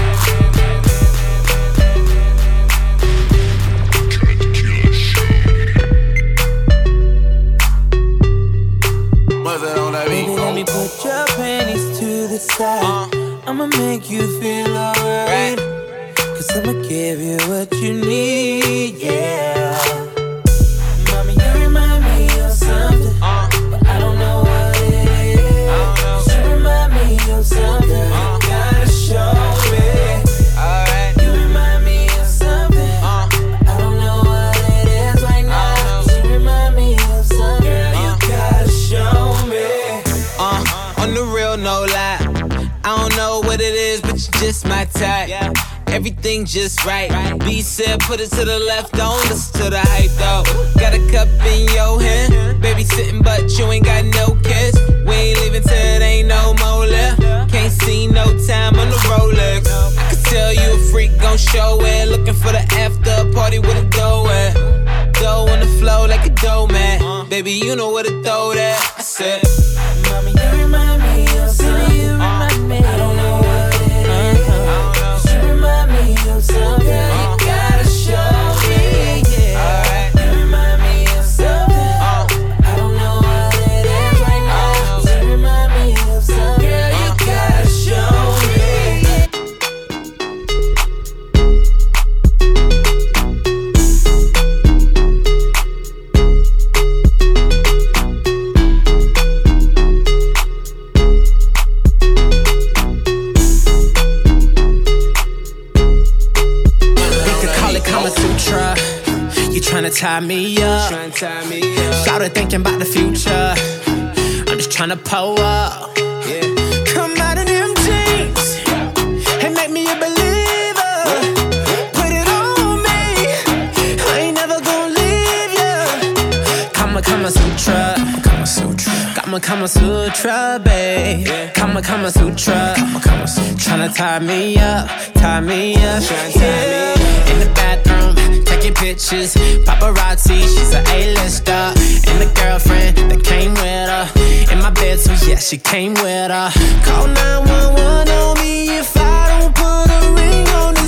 Was it on that beat? Baby, let me put your panties to the side. Uh, I'ma make you feel alright. Cause I'ma give you what you need, yeah. Mommy, you remind me of something, uh, but I don't know what it is. Cause you remind me of something, uh, you gotta show me. Alright. You remind me of something, uh, I don't know what it is right now. Cause you remind me of something, girl, you gotta show me. Uh, on the real, no lie. I don't know what it is, but you're just my type. Everything just right. B said put it to the left, don't listen to the hype though. Got a cup in your hand, baby sitting but you ain't got no kiss. We ain't leaving till it ain't no more left. Can't see no time on the Rolex. I could tell you a freak gon' show it. Looking for the after party with a dough at. Dough on the flow like a dough man. Baby you know where to throw that. I said, Mommy you remind me of something. You remind me. I don't know what it is. Uh-huh. You remind me of something. Uh-huh. You gotta show me, yeah. Alright. You remind me of something. Uh-huh. I don't know what it is right now. Uh-huh. You remind me of something. Girl, you uh-huh. gotta show me. Tryna tie me up, started thinking about the future. I'm just tryna pull up, yeah. Come out of them jeans and make me a believer. Put it on me, I ain't never gonna leave ya. Kama Kama Sutra, Kama Sutra, Kama Kama Sutra, babe. Kama Kama Sutra, Kama Kama Sutra. Tryna tie me up, tie me up, yeah. In the bathroom, taking pictures, paparazzi, she's an A-lister. And the girlfriend that came with her, in my bed, so yeah, she came with her. Call nine one one on me if I don't put a ring on the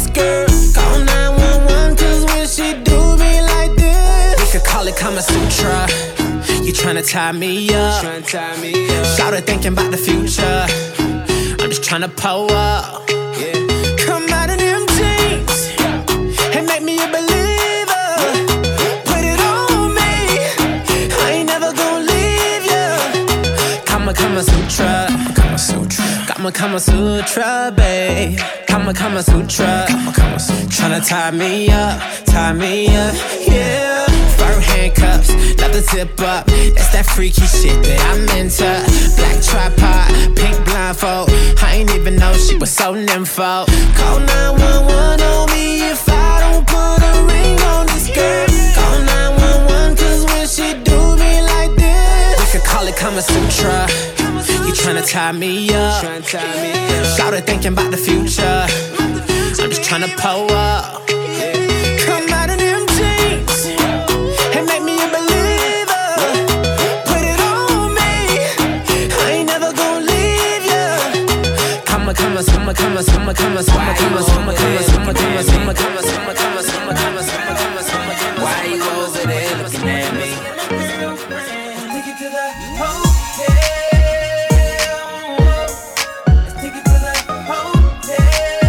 tryna tie me up. Shout thinking about the future. I'm just tryna pull up. Come out of them jeans and make me a believer. Put it on me, I ain't never gonna leave you. Kama Kama Sutra, Kama Sutra, Kama Kama Sutra, babe. Kama Kama Sutra, Kama Kama Sutra. Tryna tie me up, tie me up, yeah. Fur handcuffs, not the zip up. That's that freaky shit that I'm into. Black tripod, pink blindfold. I ain't even know she was so nympho. Call nine one one on me if I don't put a ring on this girl. Call nine one one cause when she do me like this, we could call it Kama Sutra. You tryna tie me up. Shout it thinking about the future. I'm just tryna pull up. Come out of them jeans and make me a believer. Put it on me, I ain't never gonna leave you. Kama Kama Kama Kama Kama Kama Kama Kama Kama Kama Kama Kama Kama Kama Kama Kama Kama Kama Kama. Why you over there looking at me? Take it to the hotel. Take it to the hotel.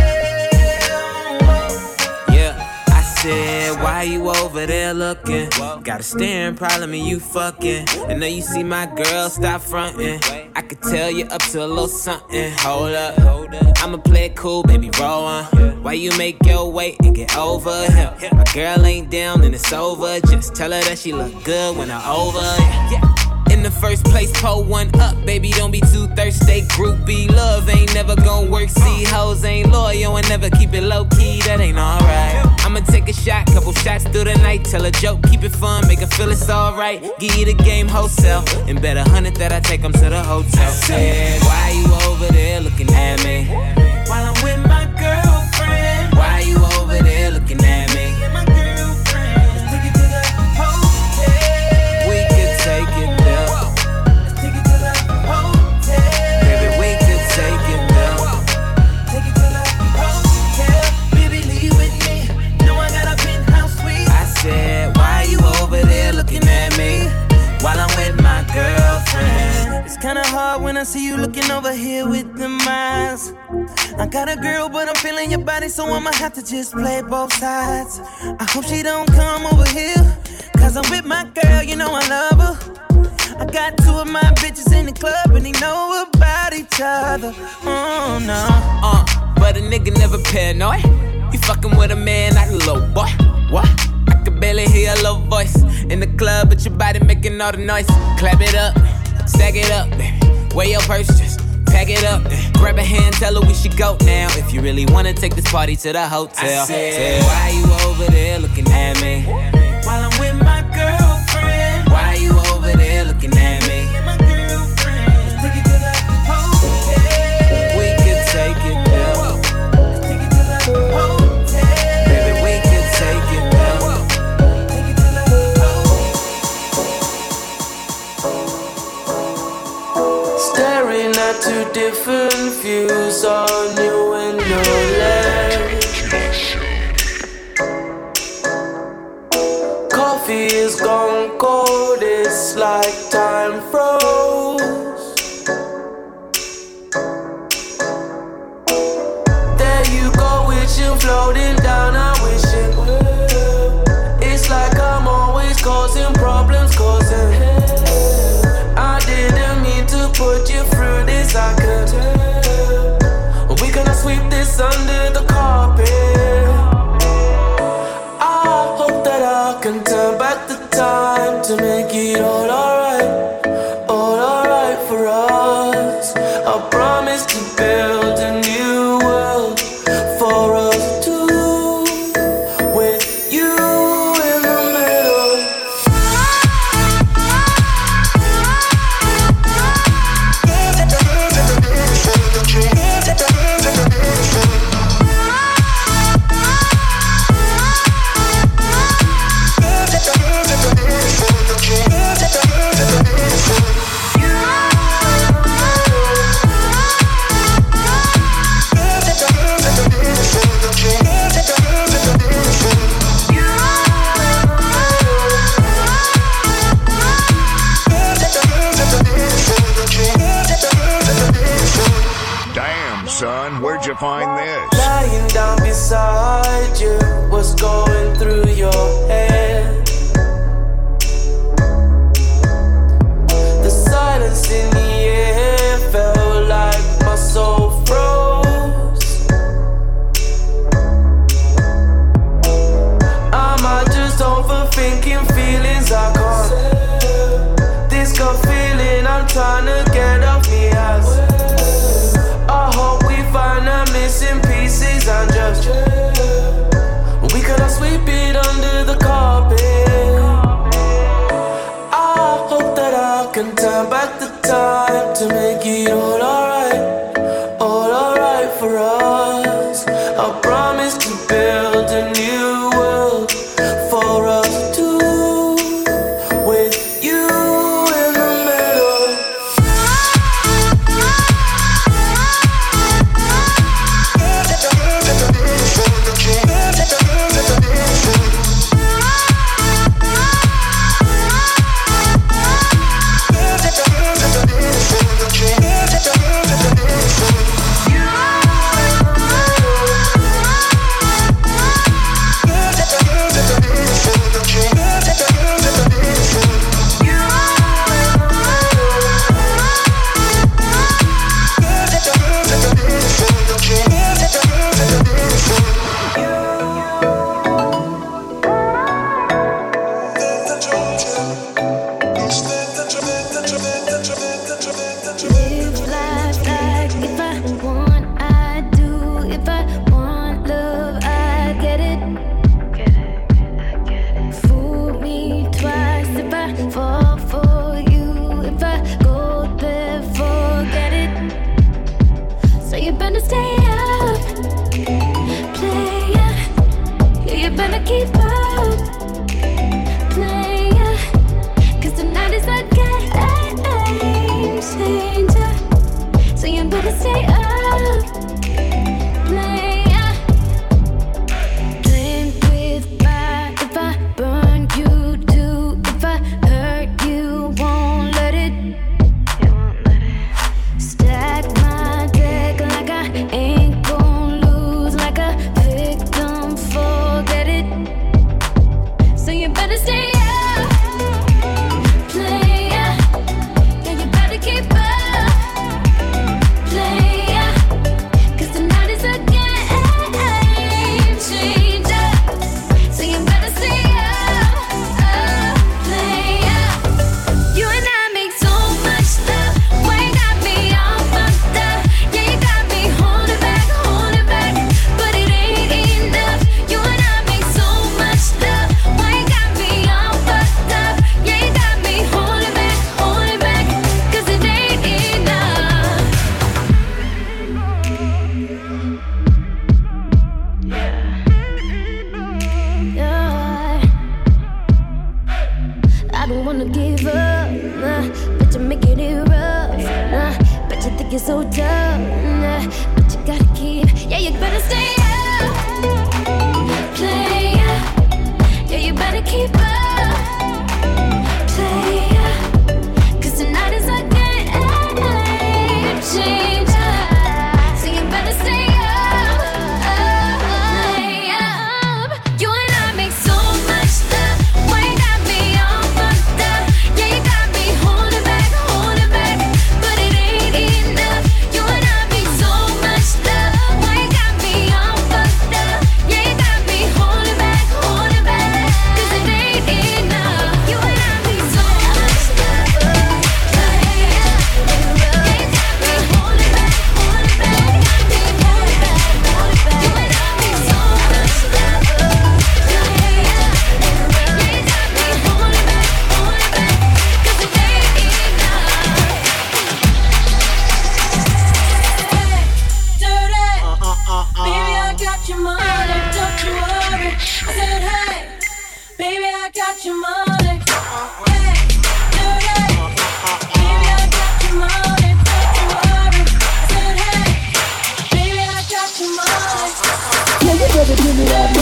Yeah, I said, why you over there looking? Got a staring problem and you fucking. I know you see my girl, stop fronting. I could tell you up to a little something. Hold up, I'ma play it cool, baby, roll on. Why you make your way and get over here? My girl ain't down and it's over. Just tell her that she look good when I'm over. Yeah. In the first place, pull one up, baby, don't be too thirsty. Groupie love ain't never gon' work. See, hoes ain't loyal and never keep it low key. That ain't alright. I'ma take a shot, couple shots through the night. Tell a joke, keep it fun, make her feel it's alright. Give you the game wholesale, and bet a hundred that I take them to the hotel. Said, why you over there looking at me? While I'm with my girlfriend. Why you over there looking at me? My girlfriend. Let's take it to the hotel. We could take it there. Let's take it to the hotel. Baby, we could take it there. Take it to the hotel. Baby, leave with me. Know I got a penthouse suite. I said, why you over there looking at me? While I'm with my girlfriend. It's kinda hard when I see you looking over here with them eyes. I got a girl, but I'm feeling your body, so I'ma have to just play both sides. I hope she don't come over here, cause I'm with my girl, you know I love her. I got two of my bitches in the club, and they know about each other. Oh no. Uh, but a nigga never paranoid. You fucking with a man, not a little boy. What? I can barely hear your little voice in the club, but your body making all the noise. Clap it up, stack it up, weigh your purse, just pack it up. Grab a hand, tell her we should go now. If you really wanna take this party to the hotel. I said, why you over there looking at me? While I'm with my girlfriend. Why you over there looking at me? My girlfriend. Let's take it to the hotel. We could take it there. Let's take it to the hotel. Baby, we could take it there. Take it to the hotel. Staring at two different views on your window ledge. Coffee is gone cold, it's like time froze. There you go, wishing, floating down, I wish it would. It's like I'm always causing problems, causing. I didn't mean to put you through this, I could tell. We gonna sweep this under the carpet. I hope that I can turn back the time to make it all alright, all alright for us. I promise to build a new world for us two. Damn, son, where'd you find this? Lying down beside you, what's going through your head? The silence in the air felt like my soul froze. Am I just overthinking feelings I can't? This gut feeling I'm trying to get off me ass. I hope we find the missing pieces and just we cannot sweep it under the carpet. I hope that I can turn back the time to make it all alright, all alright for us. I promise to build a new world for us two, with you in the middle.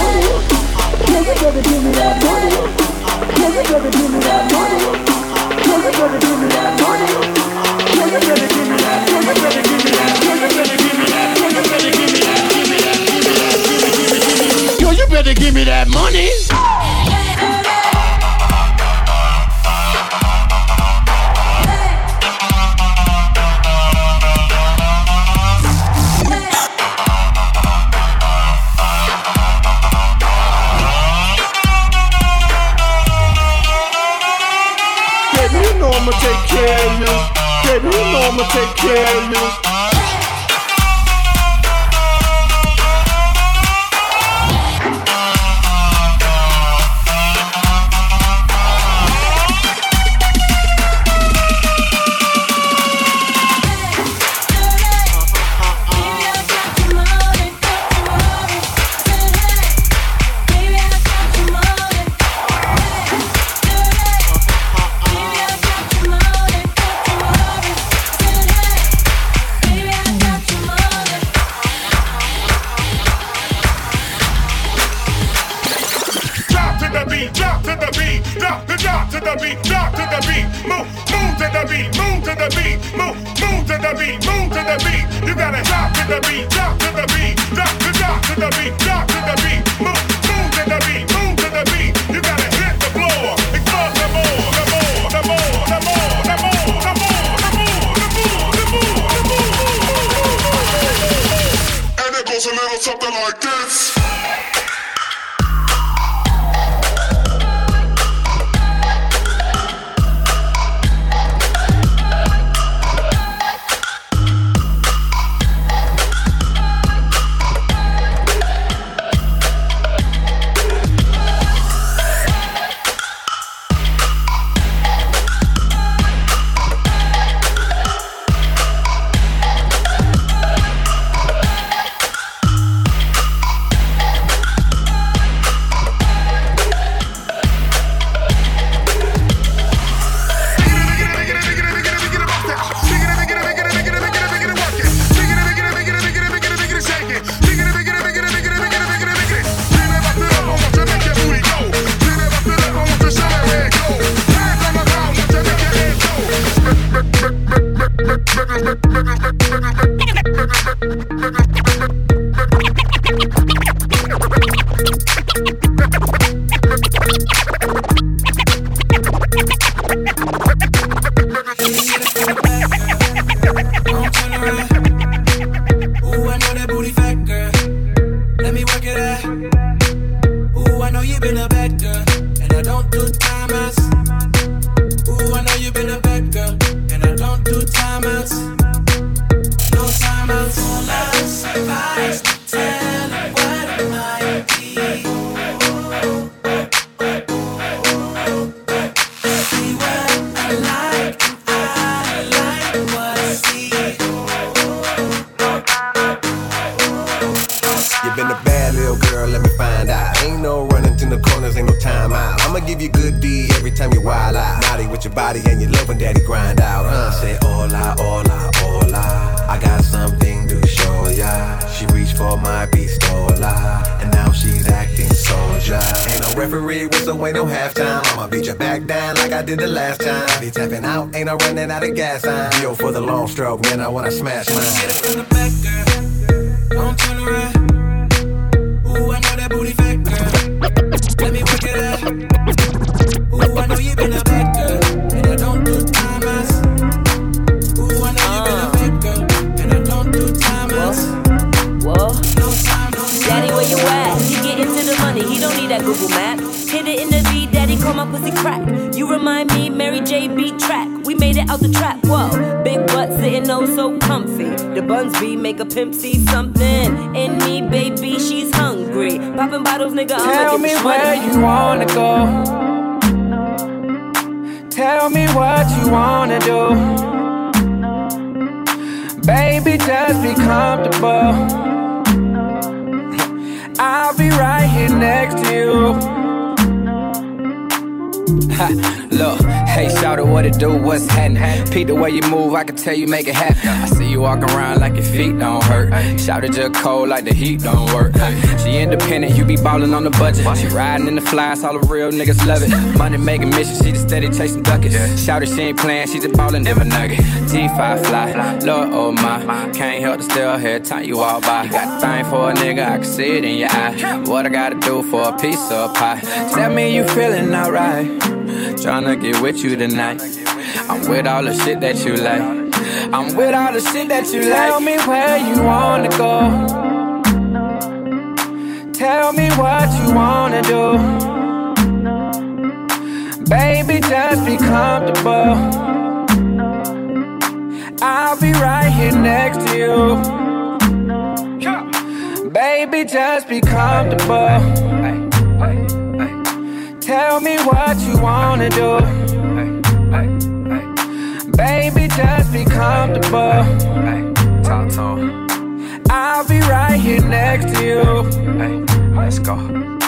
Can you give me that money? Can you give me that money? Yo, you better give me that money. Baby, you know I'ma take care of you. Baby, you know I'ma take care of you. Drop to the beat, drop the drop to the beat, drop to the beat, move, move to the beat, move to the beat, move, move to the beat, move to the beat. You gotta drop to the beat, drop to the beat, drop the drop to the beat, drop to the beat, move, move to the beat, move to the beat. You gotta hit the floor, explode the more, the more, the more, the more, the more, the more, the more, the more, the more, the more. And it goes a little something like this. Did the last time. Be tapping out, ain't no running out of gas. I'm yo for the long stroke, man. I wanna smash mine. Get it from the back, girl. Don't turn around. Ooh, I know that booty fat, girl. Let me work it out. Ooh, I know you been a bad girl, and I don't do time outs. Ooh, I know you been a bad girl, and I don't do time outs. Whoa, no time, no time. Daddy, where you at? He get into the money, he don't need that Google map. Hit it in the beat, daddy, call my pussy crack. You remind me, Mary J. beat track. We made it out the trap, whoa. Big butt sitting oh so comfy. The buns be make a pimp see something in me, baby, she's hungry. Popping bottles, nigga, I'ma Tell me where you wanna go. Tell me what you wanna do. Baby, just be comfortable. I'll be right here next to you. Ha, look, hey, shout Shout out what it do, what's happening. Peep the way you move, I can tell you make it happen. I see you walking around like your feet don't hurt. Shout it just cold like the heat don't work. She independent, you be ballin' on the budget. She riding in the flies, all the real niggas love it. Money making mission, she just steady chasing duckets. Shout it, she ain't playing, she just ballin' never nugget. G five fly, Lord oh my, can't help to still hear time you walk by. You got the thing for a nigga, I can see it in your eye. What I gotta do for a piece of pie? Tell me you feeling alright. Tryna get with you tonight. I'm with all the shit that you like. I'm with all the shit that you like. Tell me where you wanna go. Tell me what you wanna do. Baby, just be comfortable. I'll be right here next to you. Baby, just be comfortable. Tell me what you wanna do. Baby, just be comfortable. I'll be right here next to you. Let's go.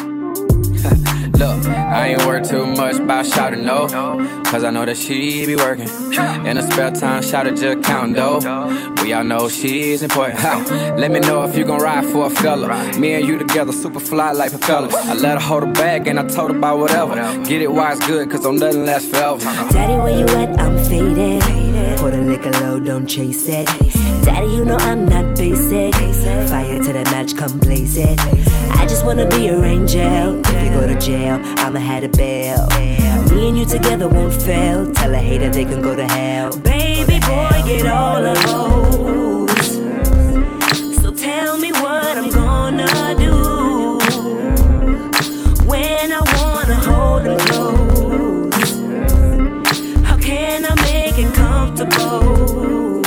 Look, I ain't worried too much about shouting no, cause I know that she be working. In her spare time, shout it just counting dough. We all know she's important. Ha. Let me know if you gon' ride for a fella. Me and you together, super fly like propellers. I let her hold her bag and I told her about whatever. Get it while it's good, cause don't nothing last forever. Daddy, where you at? I'm faded. Pour the liquor low, don't chase it. Daddy, you know I'm not basic. Fire to the match, come blaze it. I just wanna be your angel. If you go to jail, I'ma have a bail. Me and you together won't fail. Tell a hater they can go to hell. Baby boy, get all of those. So tell me what I'm gonna do when I wanna hold them close. How can I make it comfortable?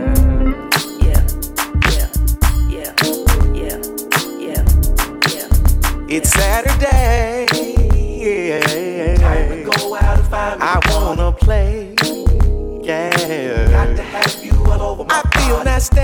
Yeah, yeah, yeah, yeah, yeah, yeah. It's Saturday. Yeah. Time to go out and find me. I wanna play. Yeah. Got to have you all over my I feel nasty.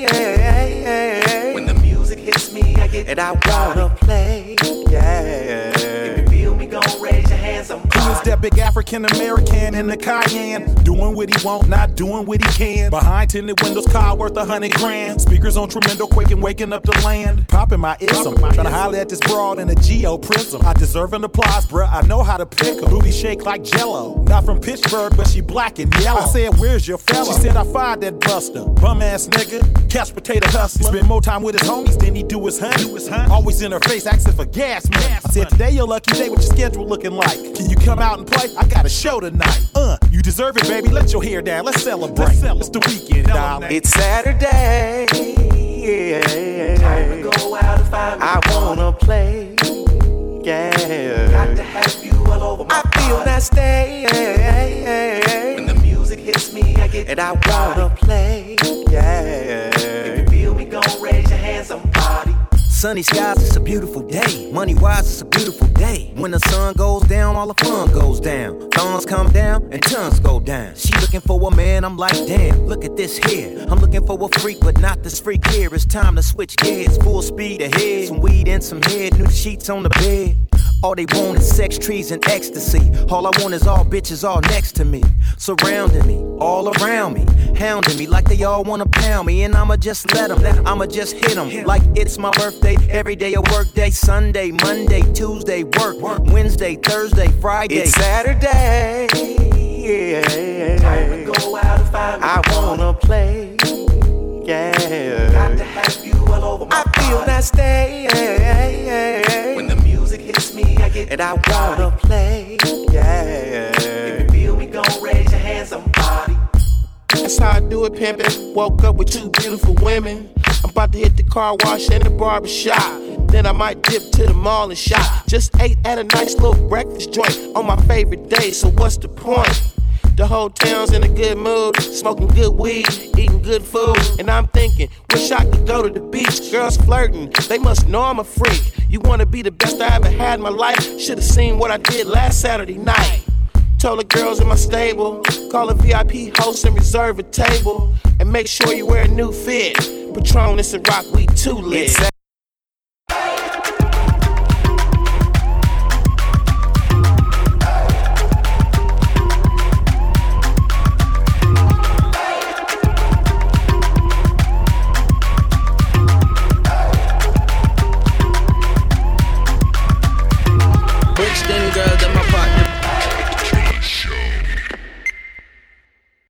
Yeah. When the music hits me, I get and I wanna play. Yeah. If you feel me, gon' raise your hands. I'm Who is that big African American in the Cayenne? Doing what he want, not doing what he can. Behind tinted windows, car worth a hundred grand. Speakers on tremendo, quaking, waking up the land. Popping my ism, trying to holler at this broad in a Geo prism. I deserve an applause, bruh. I know how to pick 'em. Booty shake like Jello. Not from Pittsburgh, but she black and yellow. I said, where's your fella? She said, I fired that buster. Bum ass nigga, couch potato hustler. Spend more time with his homies than he do his honey. Always in her face, asking for gas, man. I said, today your lucky day, what your schedule looking like? Can you come out and play? I got a show tonight. Uh, you deserve it, baby. Let your hair down. Let's celebrate. Let's celebrate. It's the weekend, darling. It's Saturday. Yeah. Time to go out and find me. I wanna play. Yeah. Got to have you all over my I feel nasty. Yeah. When the music hits me, I get and I wanna play. Yeah. If you feel me, gon' raise your hands, somebody. Sunny skies, it's a beautiful day. Money wise, it's a beautiful day. When the sun goes down, all the fun goes down. Thorns come down and tons go down. She looking for a man, I'm like, damn, look at this here. I'm looking for a freak, but not this freak here. It's time to switch gears, full speed ahead. Some weed and some head, new sheets on the bed. All they want is sex, trees, and ecstasy. All I want is all bitches all next to me. Surrounding me, all around me. Hounding me like they all wanna pound me. And I'ma just let them, I'ma just hit them. Like it's my birthday, every day a work day. Sunday, Monday, Tuesday, work. Wednesday, Thursday, Friday. It's Saturday. Yeah. Time to go out and find me. I wanna play. Yeah. Got to have you all over my I feel nasty. Yeah. When the music hits me, I get and I wanna play. Yeah. If you feel me, gon' raise your hands, somebody. That's how I do it, pimpin'. Woke up with two beautiful women. I'm about to hit the car wash and the barber shop. Then I might dip to the mall and shop. Just ate at a nice little breakfast joint on my favorite day, so what's the point? The whole town's in a good mood, smoking good weed, eating good food. And I'm thinking, wish I could go to the beach. Girls flirting, they must know I'm a freak. You wanna be the best I ever had in my life? Should've seen what I did last Saturday night. Told the girls in my stable, call a V I P host and reserve a table. And make sure you wear a new fit. Patronus and rock, we too lit. It's